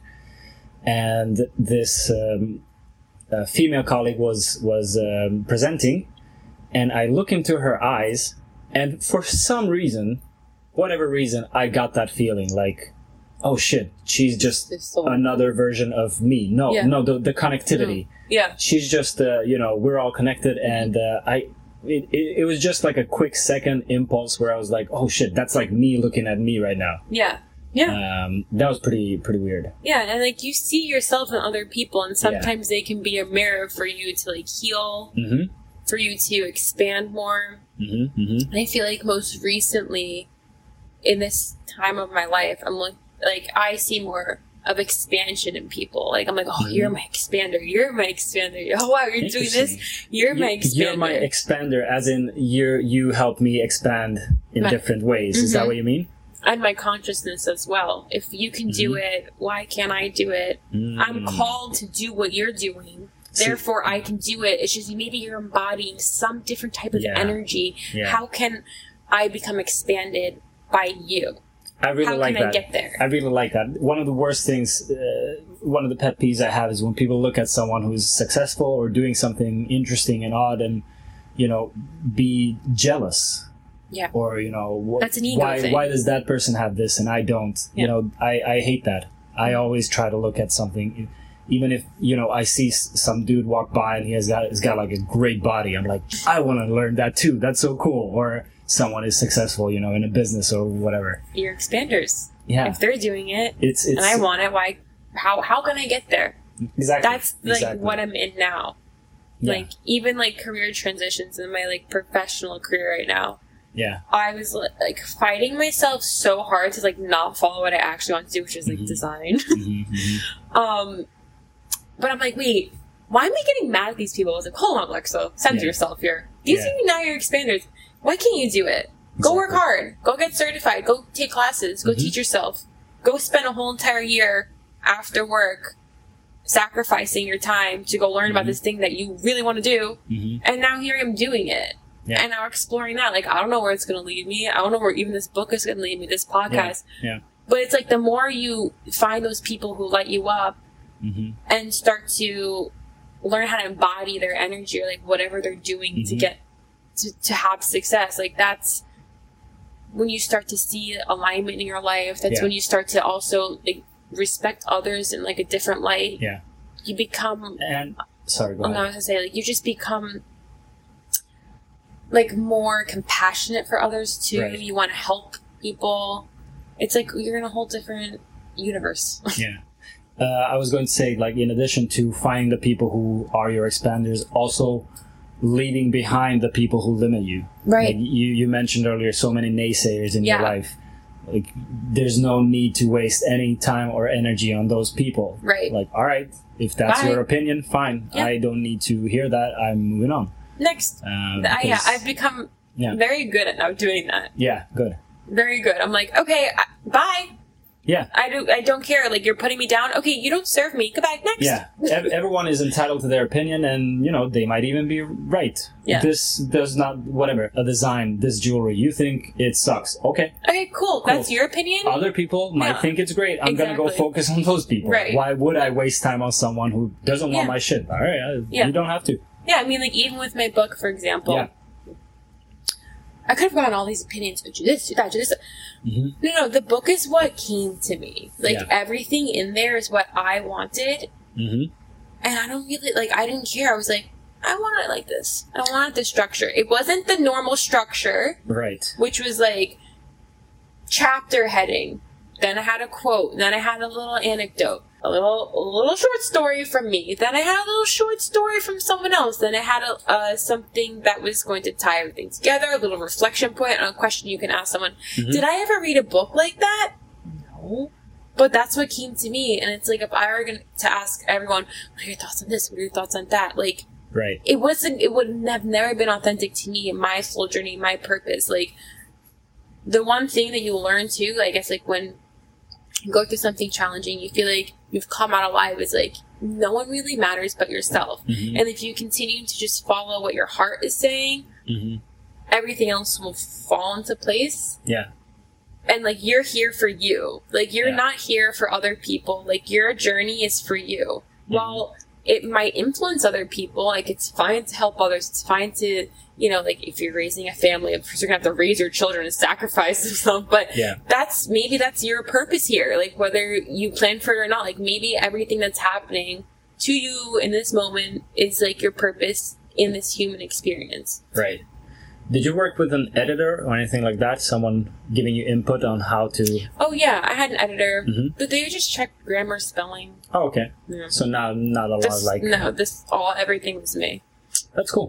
and this um, uh, female colleague was was um, presenting, and I look into her eyes, and for some reason, whatever reason, I got that feeling like, oh shit, she's just The soul. another version of me. No, Yeah. no, the the connectivity. Yeah. She's just uh, you know, we're all connected, and uh, I it, it, it was just like a quick second impulse where I was like, oh shit, that's like me looking at me right now. Yeah. Yeah. Um, that was pretty pretty weird. Yeah. And like you see yourself in other people, and sometimes they can be a mirror for you to like heal, Mm-hmm. for you to expand more. Mm-hmm. Mm-hmm. And I feel like most recently, in this time of my life, I'm like, like I see more of expansion in people. Like I'm like, oh, Mhm. you're my expander. You're my expander. Oh wow, you're doing this. Interesting. You're my You- expander. You're my expander, as in you you help me expand in My- different ways. Is that Mhm. what you mean? and my consciousness as well. If you can do it, why can't I do it? Mm. I'm called to do what you're doing. See- Therefore, I can do it. It's just maybe you're embodying some different type of Yeah. energy. Yeah. How can I become expanded by you? I really How like can I that. get there? I really like that. One of the worst things, uh, one of the pet peeves I have is when people look at someone who's successful or doing something interesting and odd, and you know, be jealous. Yeah. Or you know, wh- That's an ego why thing. why does that person have this and I don't? Yeah. You know, I I hate that. I always try to look at something, even if you know I see s- some dude walk by and he has got he's got like a great body. I'm like, I want to learn that too. That's so cool. Or someone is successful, you know, in a business or whatever. You're expanders. Yeah. If they're doing it It's it's and I want it, why? How how can I get there? exactly That's like exactly. what I'm in now. Yeah. Like even like career transitions in my like professional career right now. Yeah. I was like fighting myself so hard to like not follow what I actually want to do, which is like Mhm. design. Mhm, mhm. um, but I'm like, wait, why am I getting mad at these people? I was like, hold on, Alexa, center Yeah. yourself here. These Yeah. are now your expanders. Why can't you do it? Go work Exactly. hard. Go get certified. Go take classes. Go Mhm. teach yourself. Go spend a whole entire year after work sacrificing your time to go learn about Mhm. this thing that you really want to do. Mhm. And now here I am doing it. Yeah. And now exploring that. Like, I don't know where it's going to lead me. I don't know where even this book is going to lead me, this podcast. Yeah. But it's like the more you find those people who light you up Mhm. and start to learn how to embody their energy or like whatever they're doing to Mhm. get to, to have success, like that's when you start to see alignment in your life. That's Yeah. when you start to also like respect others in like a different light. Yeah. You become And sorry, go I'm ahead. not gonna say like you just become like more compassionate for others too. Right. You want to help people. It's like you're in a whole different universe. Yeah. Uh, I was going to say, like, in addition to finding the people who are your expanders, also leaving behind the people who limit you. Right. Like you, you mentioned earlier, so many naysayers in your Yeah. life. Like, there's no need to waste any time or energy on those people. Right. Like, all right, if that's Bye. your opinion, fine. Yeah. I don't need to hear that. I'm moving on. Next. Um, I, yeah, because- I've become Yeah. very good at now doing that. yeah, good. Very good. I'm like, okay, I, bye. Yeah. I do. I don't care. Like you're putting me down. Okay, you don't serve me. Goodbye. Next. Yeah, Ev- everyone is entitled to their opinion, and you know they might even be right. Yeah. This does not, whatever, a design, this jewelry, you think it sucks. Okay. Okay, cool. That's your opinion. Other people might Yeah. think it's great. I'm gonna go Exactly. focus on those people. Right. Why would I waste time on someone who doesn't want Yeah. my shit? All right, uh, Yeah. you don't have to. Yeah, I mean, like even with my book, for example, Yeah. I could have gotten all these opinions. Do this, do that, do this. hmm No, no, the book is what came to me. Like Yeah. everything in there is what I wanted, hmm and I don't really like. I didn't care. I was like, I want it like this. I wanted this structure. It wasn't the normal structure, Right. which was like chapter heading. Then I had a quote. Then I had a little anecdote. a little a little short story from me. Then I had a little short story from someone else. Then I had a, uh, something that was going to tie everything together, a little reflection point on a question you can ask someone. Mm-hmm. Did I ever read a book like that? No. But that's what came to me. And it's like, if I were going to ask everyone, what are your thoughts on this? What are your thoughts on that? Like, right. It wasn't, it would have never been authentic to me, my soul journey, my purpose. Like, the one thing that you learn too, I guess, like when you go through something challenging, you feel like you've come out alive. It's like, no one really matters but yourself. Mm-hmm. And if you continue to just follow what your heart is saying, mm-hmm. everything else will fall into place. Yeah. And like, you're here for you. Like, you're yeah. not here for other people. Like, your journey is for you. Mm-hmm. While it might influence other people, like, it's fine to help others. It's fine to, you know, like, if you're raising a family, of course you're gonna have to raise your children and sacrifice themselves. But yeah. that's, maybe that's your purpose here. Like, whether you plan for it or not, like, maybe everything that's happening to you in this moment is, like, your purpose in this human experience. Right. Did you work with an editor or anything like that? Someone giving you input on how to... Oh, yeah. I had an editor. Mm-hmm. But they just checked grammar, spelling. Oh, okay. Yeah. So not, not a this, lot like... No, this all, everything was me. That's cool.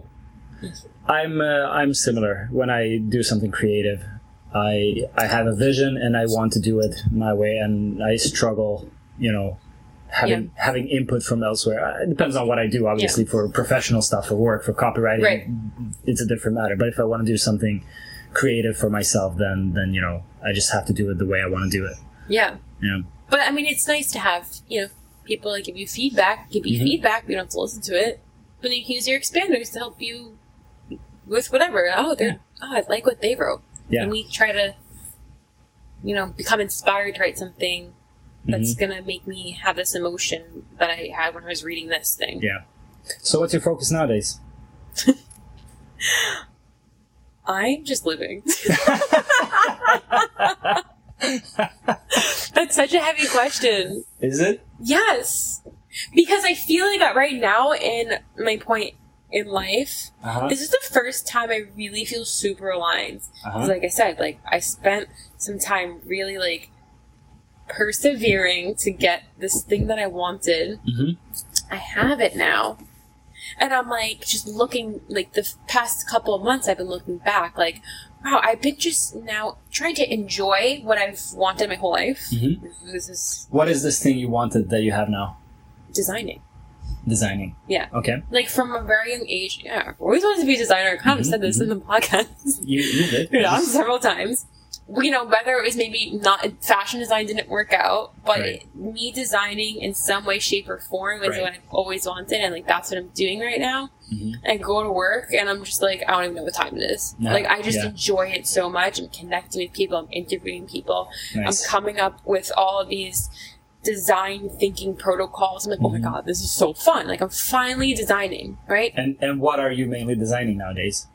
I'm uh, I'm similar. When I do something creative, I I have a vision and I want to do it my way, and I struggle, you know, having yeah. having input from elsewhere. It depends on what I do, obviously. Yeah. For professional stuff, for work, for copywriting, right. it's a different matter. But if I want to do something creative for myself, then then you know, I just have to do it the way I want to do it. Yeah. Yeah. But I mean, it's nice to have, you know, people that give you feedback, give you mm-hmm. feedback. You don't have to listen to it, but you can use your expanders to help you with whatever. Oh, they're yeah. oh, I like what they wrote. Yeah. And we try to, you know, become inspired to write something that's mm-hmm. gonna make me have this emotion that I had when I was reading this thing. Yeah. So what's your focus nowadays? I'm just living. That's such a heavy question. Is it? Yes. Because I feel like right now in my point in life, uh-huh. this is the first time I really feel super aligned. Uh-huh. Like I said, like I spent some time really like persevering to get this thing that I wanted. Mm-hmm. I have it now. And I'm like, just looking, like the past couple of months I've been looking back, like, wow, I've been just now trying to enjoy what I've wanted my whole life. Mm-hmm. This is what is this thing you wanted that you have now? Designing. Designing. Yeah. Okay. Like from a very young age, yeah, I've always wanted to be a designer. I kind of mm-hmm. said this mm-hmm. in the podcast. You, you did. Yeah, several times. You know, whether it was maybe not, fashion design didn't work out, but right. it, me designing in some way, shape, or form is right. what I've always wanted, and like that's what I'm doing right now. Mm-hmm. I go to work, and I'm just like, I don't even know what time it is. No. Like, I just yeah. enjoy it so much. I'm connecting with people. I'm interviewing people. Nice. I'm coming up with all of these design thinking protocols. I'm like, oh mm-hmm. my god, this is so fun. Like, I'm finally designing, right? And and what are you mainly designing nowadays?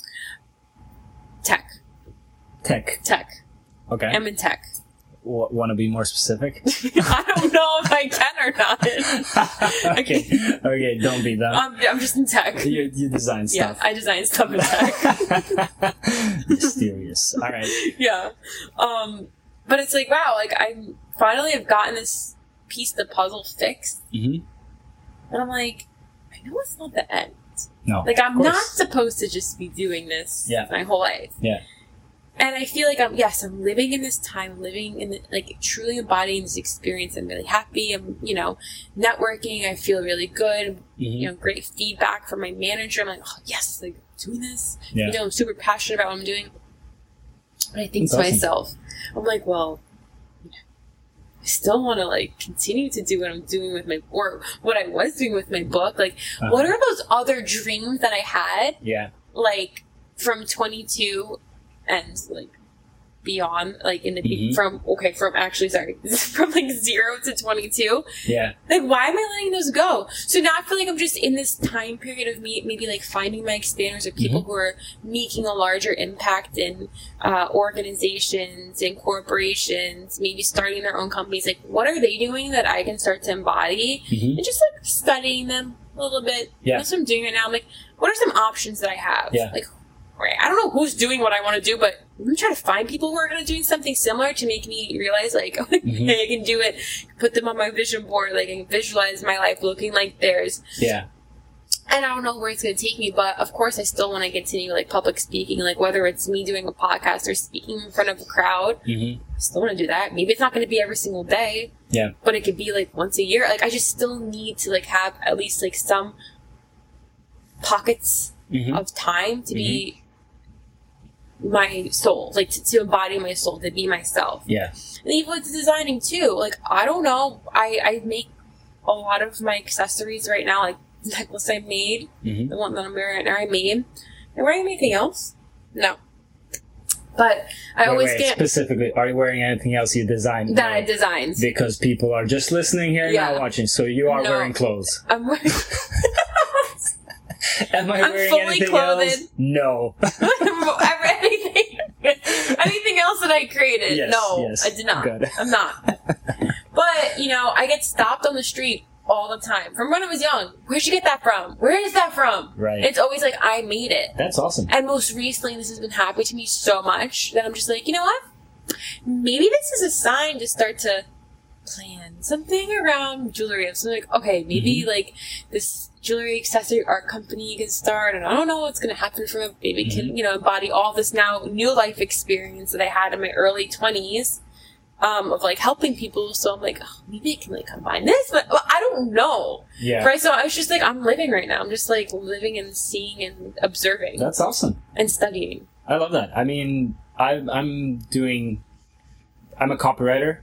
Tech. Tech. Tech. Okay. I'm in tech. W- Want to be more specific? I don't know if I can or not. okay. Okay, don't be that. Um, I'm just in tech. You, you design stuff. Yeah, I design stuff in tech. Mysterious. All right. Yeah. Um, but it's like, wow, like I finally have gotten this piece of the puzzle fixed. Mm-hmm. And I'm like, I know it's not the end. No. Like, I'm not supposed to just be doing this yeah. my whole life. Yeah. And I feel like I'm, yes, I'm living in this time, living in, the, like, truly embodying this experience. I'm really happy. I'm, you know, networking. I feel really good. Mm-hmm. You know, great feedback from my manager. I'm like, oh, yes, like, doing this. Yeah. You know, I'm super passionate about what I'm doing. But I think That's to awesome. myself, I'm like, well, I still want to, like, continue to do what I'm doing with my, or what I was doing with my book. Like, uh-huh. what are those other dreams that I had? Yeah. Like, from twenty-two and like beyond, like in the mm-hmm. from okay from actually sorry from like zero to twenty-two. Yeah. Like, why am I letting those go? So now I feel like I'm just in this time period of me maybe like finding my expanders or people mm-hmm. who are making a larger impact in uh, organizations and corporations, maybe starting their own companies. Like, what are they doing that I can start to embody? Mm-hmm. And just like studying them a little bit. Yeah. That's what I'm doing right now. I'm like, what are some options that I have? Yeah. Like, right, I don't know who's doing what I want to do, but I'm going to try to find people who are going to do something similar to make me realize, like, oh, mm-hmm. I can do it, put them on my vision board, like, I can visualize my life looking like theirs. Yeah. And I don't know where it's going to take me, but of course I still want to continue, like, public speaking, like, whether it's me doing a podcast or speaking in front of a crowd, mm-hmm. I still want to do that. Maybe it's not going to be every single day, yeah, but it could be, like, once a year. Like, I just still need to, like, have at least, like, some pockets mm-hmm. of time to mm-hmm. be my soul, like, to, to embody my soul, to be myself. Yeah. And even with designing, too. Like, I don't know. I, I make a lot of my accessories right now, like, necklace I made, mm-hmm. the one that I'm wearing right now, I made. Am I wearing anything else? No. But I wait, always wait, get... Specifically, are you wearing anything else you designed? That no. I designed. Because people are just listening here and yeah. not watching, so you are no. wearing clothes. I'm wearing... Am I I'm wearing fully anything clothed. else? No. anything, anything else that I created? Yes, no, yes. I did not. Good. I'm not. But, you know, I get stopped on the street all the time. From when I was young. Where'd you get that from? Where is that from? Right. It's always like, I made it. That's awesome. And most recently, this has been happening to me so much that I'm just like, you know what? Maybe this is a sign to start to plan something around jewelry. So I'm like, okay, maybe mm-hmm. like this jewelry accessory art company can start, and I don't know what's going to happen from it. Maybe mm-hmm. can, you know, embody all this now new life experience that I had in my early twenties. Um, of like helping people, so I'm like, oh, maybe I can like combine this, but well, I don't know. Yeah. Right. So I was just like, I'm living right now. I'm just like living and seeing and observing. That's awesome. And studying. I love that. I mean, I, I'm doing. I'm a copywriter,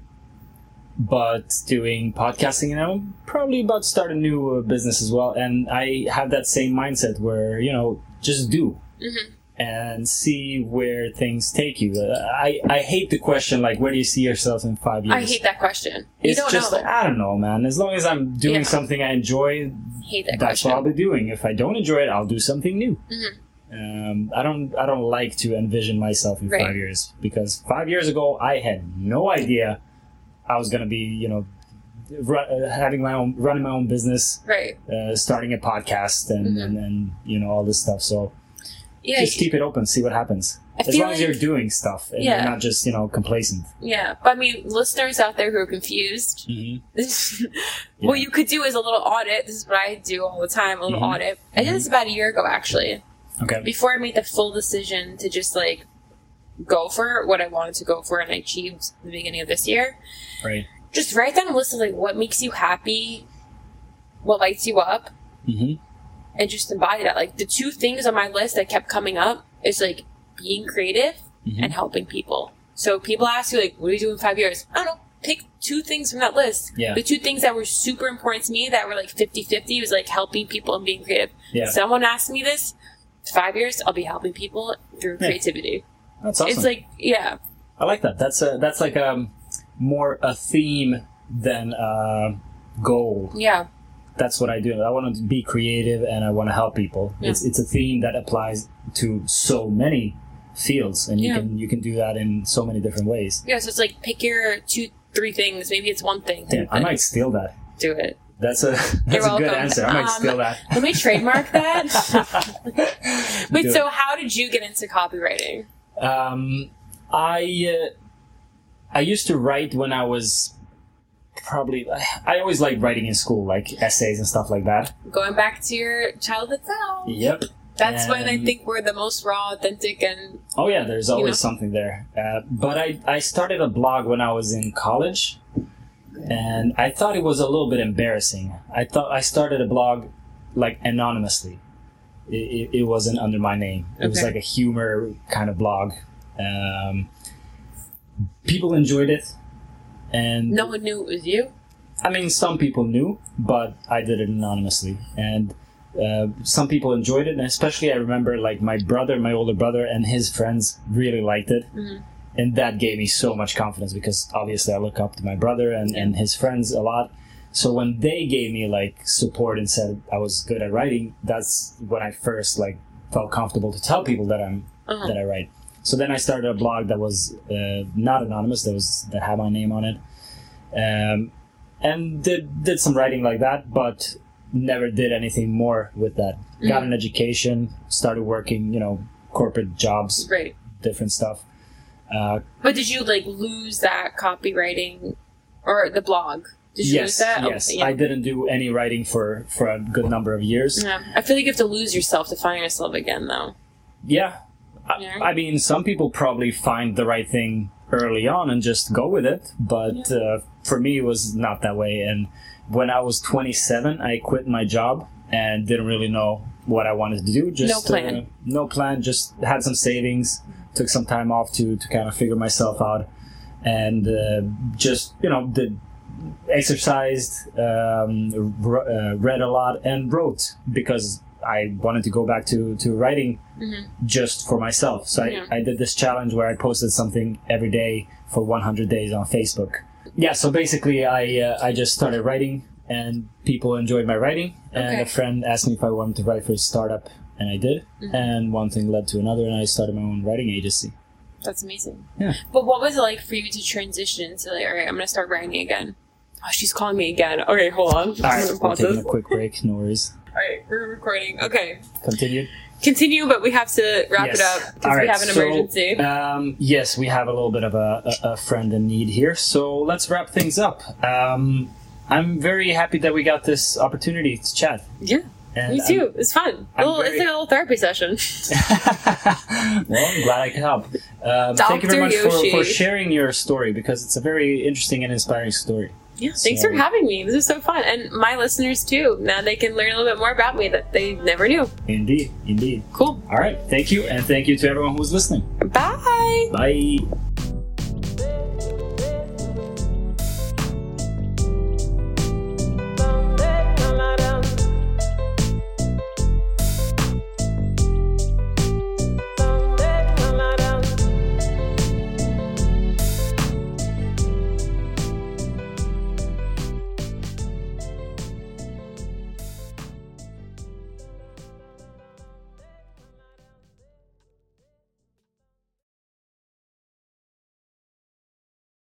but doing podcasting, and I'm probably about to start a new uh, business as well. And I have that same mindset where you know, just do. Mm-hmm. And see where things take you. Uh, I, I hate the question, like, where do you see yourself in five years? I hate that question. It's you don't just know. like, I don't know, man. As long as I'm doing yeah. something I enjoy, hate that that's question. what I'll be doing. If I don't enjoy it, I'll do something new. Mm-hmm. Um, I don't I don't like to envision myself in right. five years. Because five years ago, I had no idea I was going to be, you know, run, uh, having my own, running my own business. Right. Uh, starting a podcast and, mm-hmm. and, and, you know, all this stuff. So... Yeah, just keep it open, see what happens. I as long like, as you're doing stuff and yeah. you're not just, you know, complacent. Yeah, but I mean, listeners out there who are confused, mm-hmm. what yeah. you could do is a little audit. This is what I do all the time, a little mm-hmm. audit. I did this about a year ago, actually. Okay. Before I made the full decision to just, like, go for what I wanted to go for and I achieved at the beginning of this year. Right. Just write down a list of, like, what makes you happy, what lights you up. Mm-hmm. And just embody that. Like, the two things on my list that kept coming up is, like, being creative mm-hmm. and helping people. So people ask you, like, what are you doing in five years? I don't know. Pick two things from that list. Yeah. The two things that were super important to me that were, like, fifty-fifty was, like, helping people and being creative. Yeah. Someone asked me this, five years, I'll be helping people through yeah. creativity. That's awesome. It's like, yeah. I like that. That's a, that's like um more a theme than a goal. Yeah. That's what I do. I want to be creative and I want to help people. Yeah. It's it's a theme that applies to so many fields, and you yeah. can you can do that in so many different ways. Yeah, so it's like pick your two, three things. Maybe it's one thing. Damn, I might steal that. Do it. That's a that's a good answer. I might um, steal that. Let me trademark that. Wait, do so it. How did you get into copywriting? Um, I uh, I used to write when I was. Probably, I always liked writing in school, like essays and stuff like that. Going back to your childhood self. Yep. That's and, when I think we're the most raw, authentic, and... Oh yeah, there's always you know? something there. Uh, but I, I started a blog when I was in college, and I thought it was a little bit embarrassing. I thought I started a blog, like, anonymously. It, it, it wasn't under my name. It okay. was like a humor kind of blog. Um, people enjoyed it. And no one knew it was you? I mean, some people knew, but I did it anonymously. And uh, some people enjoyed it, and especially I remember, like, my brother, my older brother, and his friends really liked it. Mm-hmm. And that gave me so much confidence, because obviously I look up to my brother and, and his friends a lot. So when they gave me, like, support and said I was good at writing, that's when I first, like, felt comfortable to tell people that I'm uh-huh. that I write. So then I started a blog that was uh, not anonymous, that was that had my name on it, um, and did did some writing like that, but never did anything more with that. Mm-hmm. Got an education, started working, you know, corporate jobs, Right. different stuff. Uh, But did you like lose that copywriting or the blog? Did you yes, lose that? yes. Oh, yeah. I didn't do any writing for, for a good number of years. Yeah. I feel like you have to lose yourself to find yourself again, though. Yeah. Yeah. I, I mean, some people probably find the right thing early on and just go with it. But Yeah. uh, for me, it was not that way. And when I was twenty-seven, I quit my job and didn't really know what I wanted to do. Just No plan. Uh, no plan. Just had some savings. Took some time off to, to kind of figure myself out. And uh, just, you know, did exercised, um, r- uh, read a lot, and wrote because I wanted to go back to, to writing Mm-hmm. just for myself. So Yeah. I, I did this challenge where I posted something every day for one hundred days on Facebook. Yeah, so basically I uh, I just started writing, and people enjoyed my writing. And Okay. a friend asked me if I wanted to write for a startup, and I did. Mm-hmm. And one thing led to another, and I started my own writing agency. That's amazing. Yeah. But what was it like for you to transition to like, all right, I'm going to start writing again? Oh, she's calling me again. Okay, hold on. All right, I'm we're gonna pause taking this. a quick break. No worries. All right, we're recording. Okay. Continue. Continue, but we have to wrap Yes. it up because All right, we have an so, emergency. Um, yes, we have a little bit of a, a, a friend in need here, so let's wrap things up. Um, I'm very happy that we got this opportunity to chat. Yeah, And me too. It's fun. I'm Little, very- It's like a little therapy session. I'm, well, I'm glad I could help. Um, thank you very much Doctor for, for Yoshi. sharing your story, because it's a very interesting and inspiring story. Yeah, thanks So- for having me. This is so fun. And my listeners too. Now they can learn a little bit more about me that they never knew. Indeed, indeed. Cool. All right, thank you, and thank you to everyone who's listening. Bye. Bye.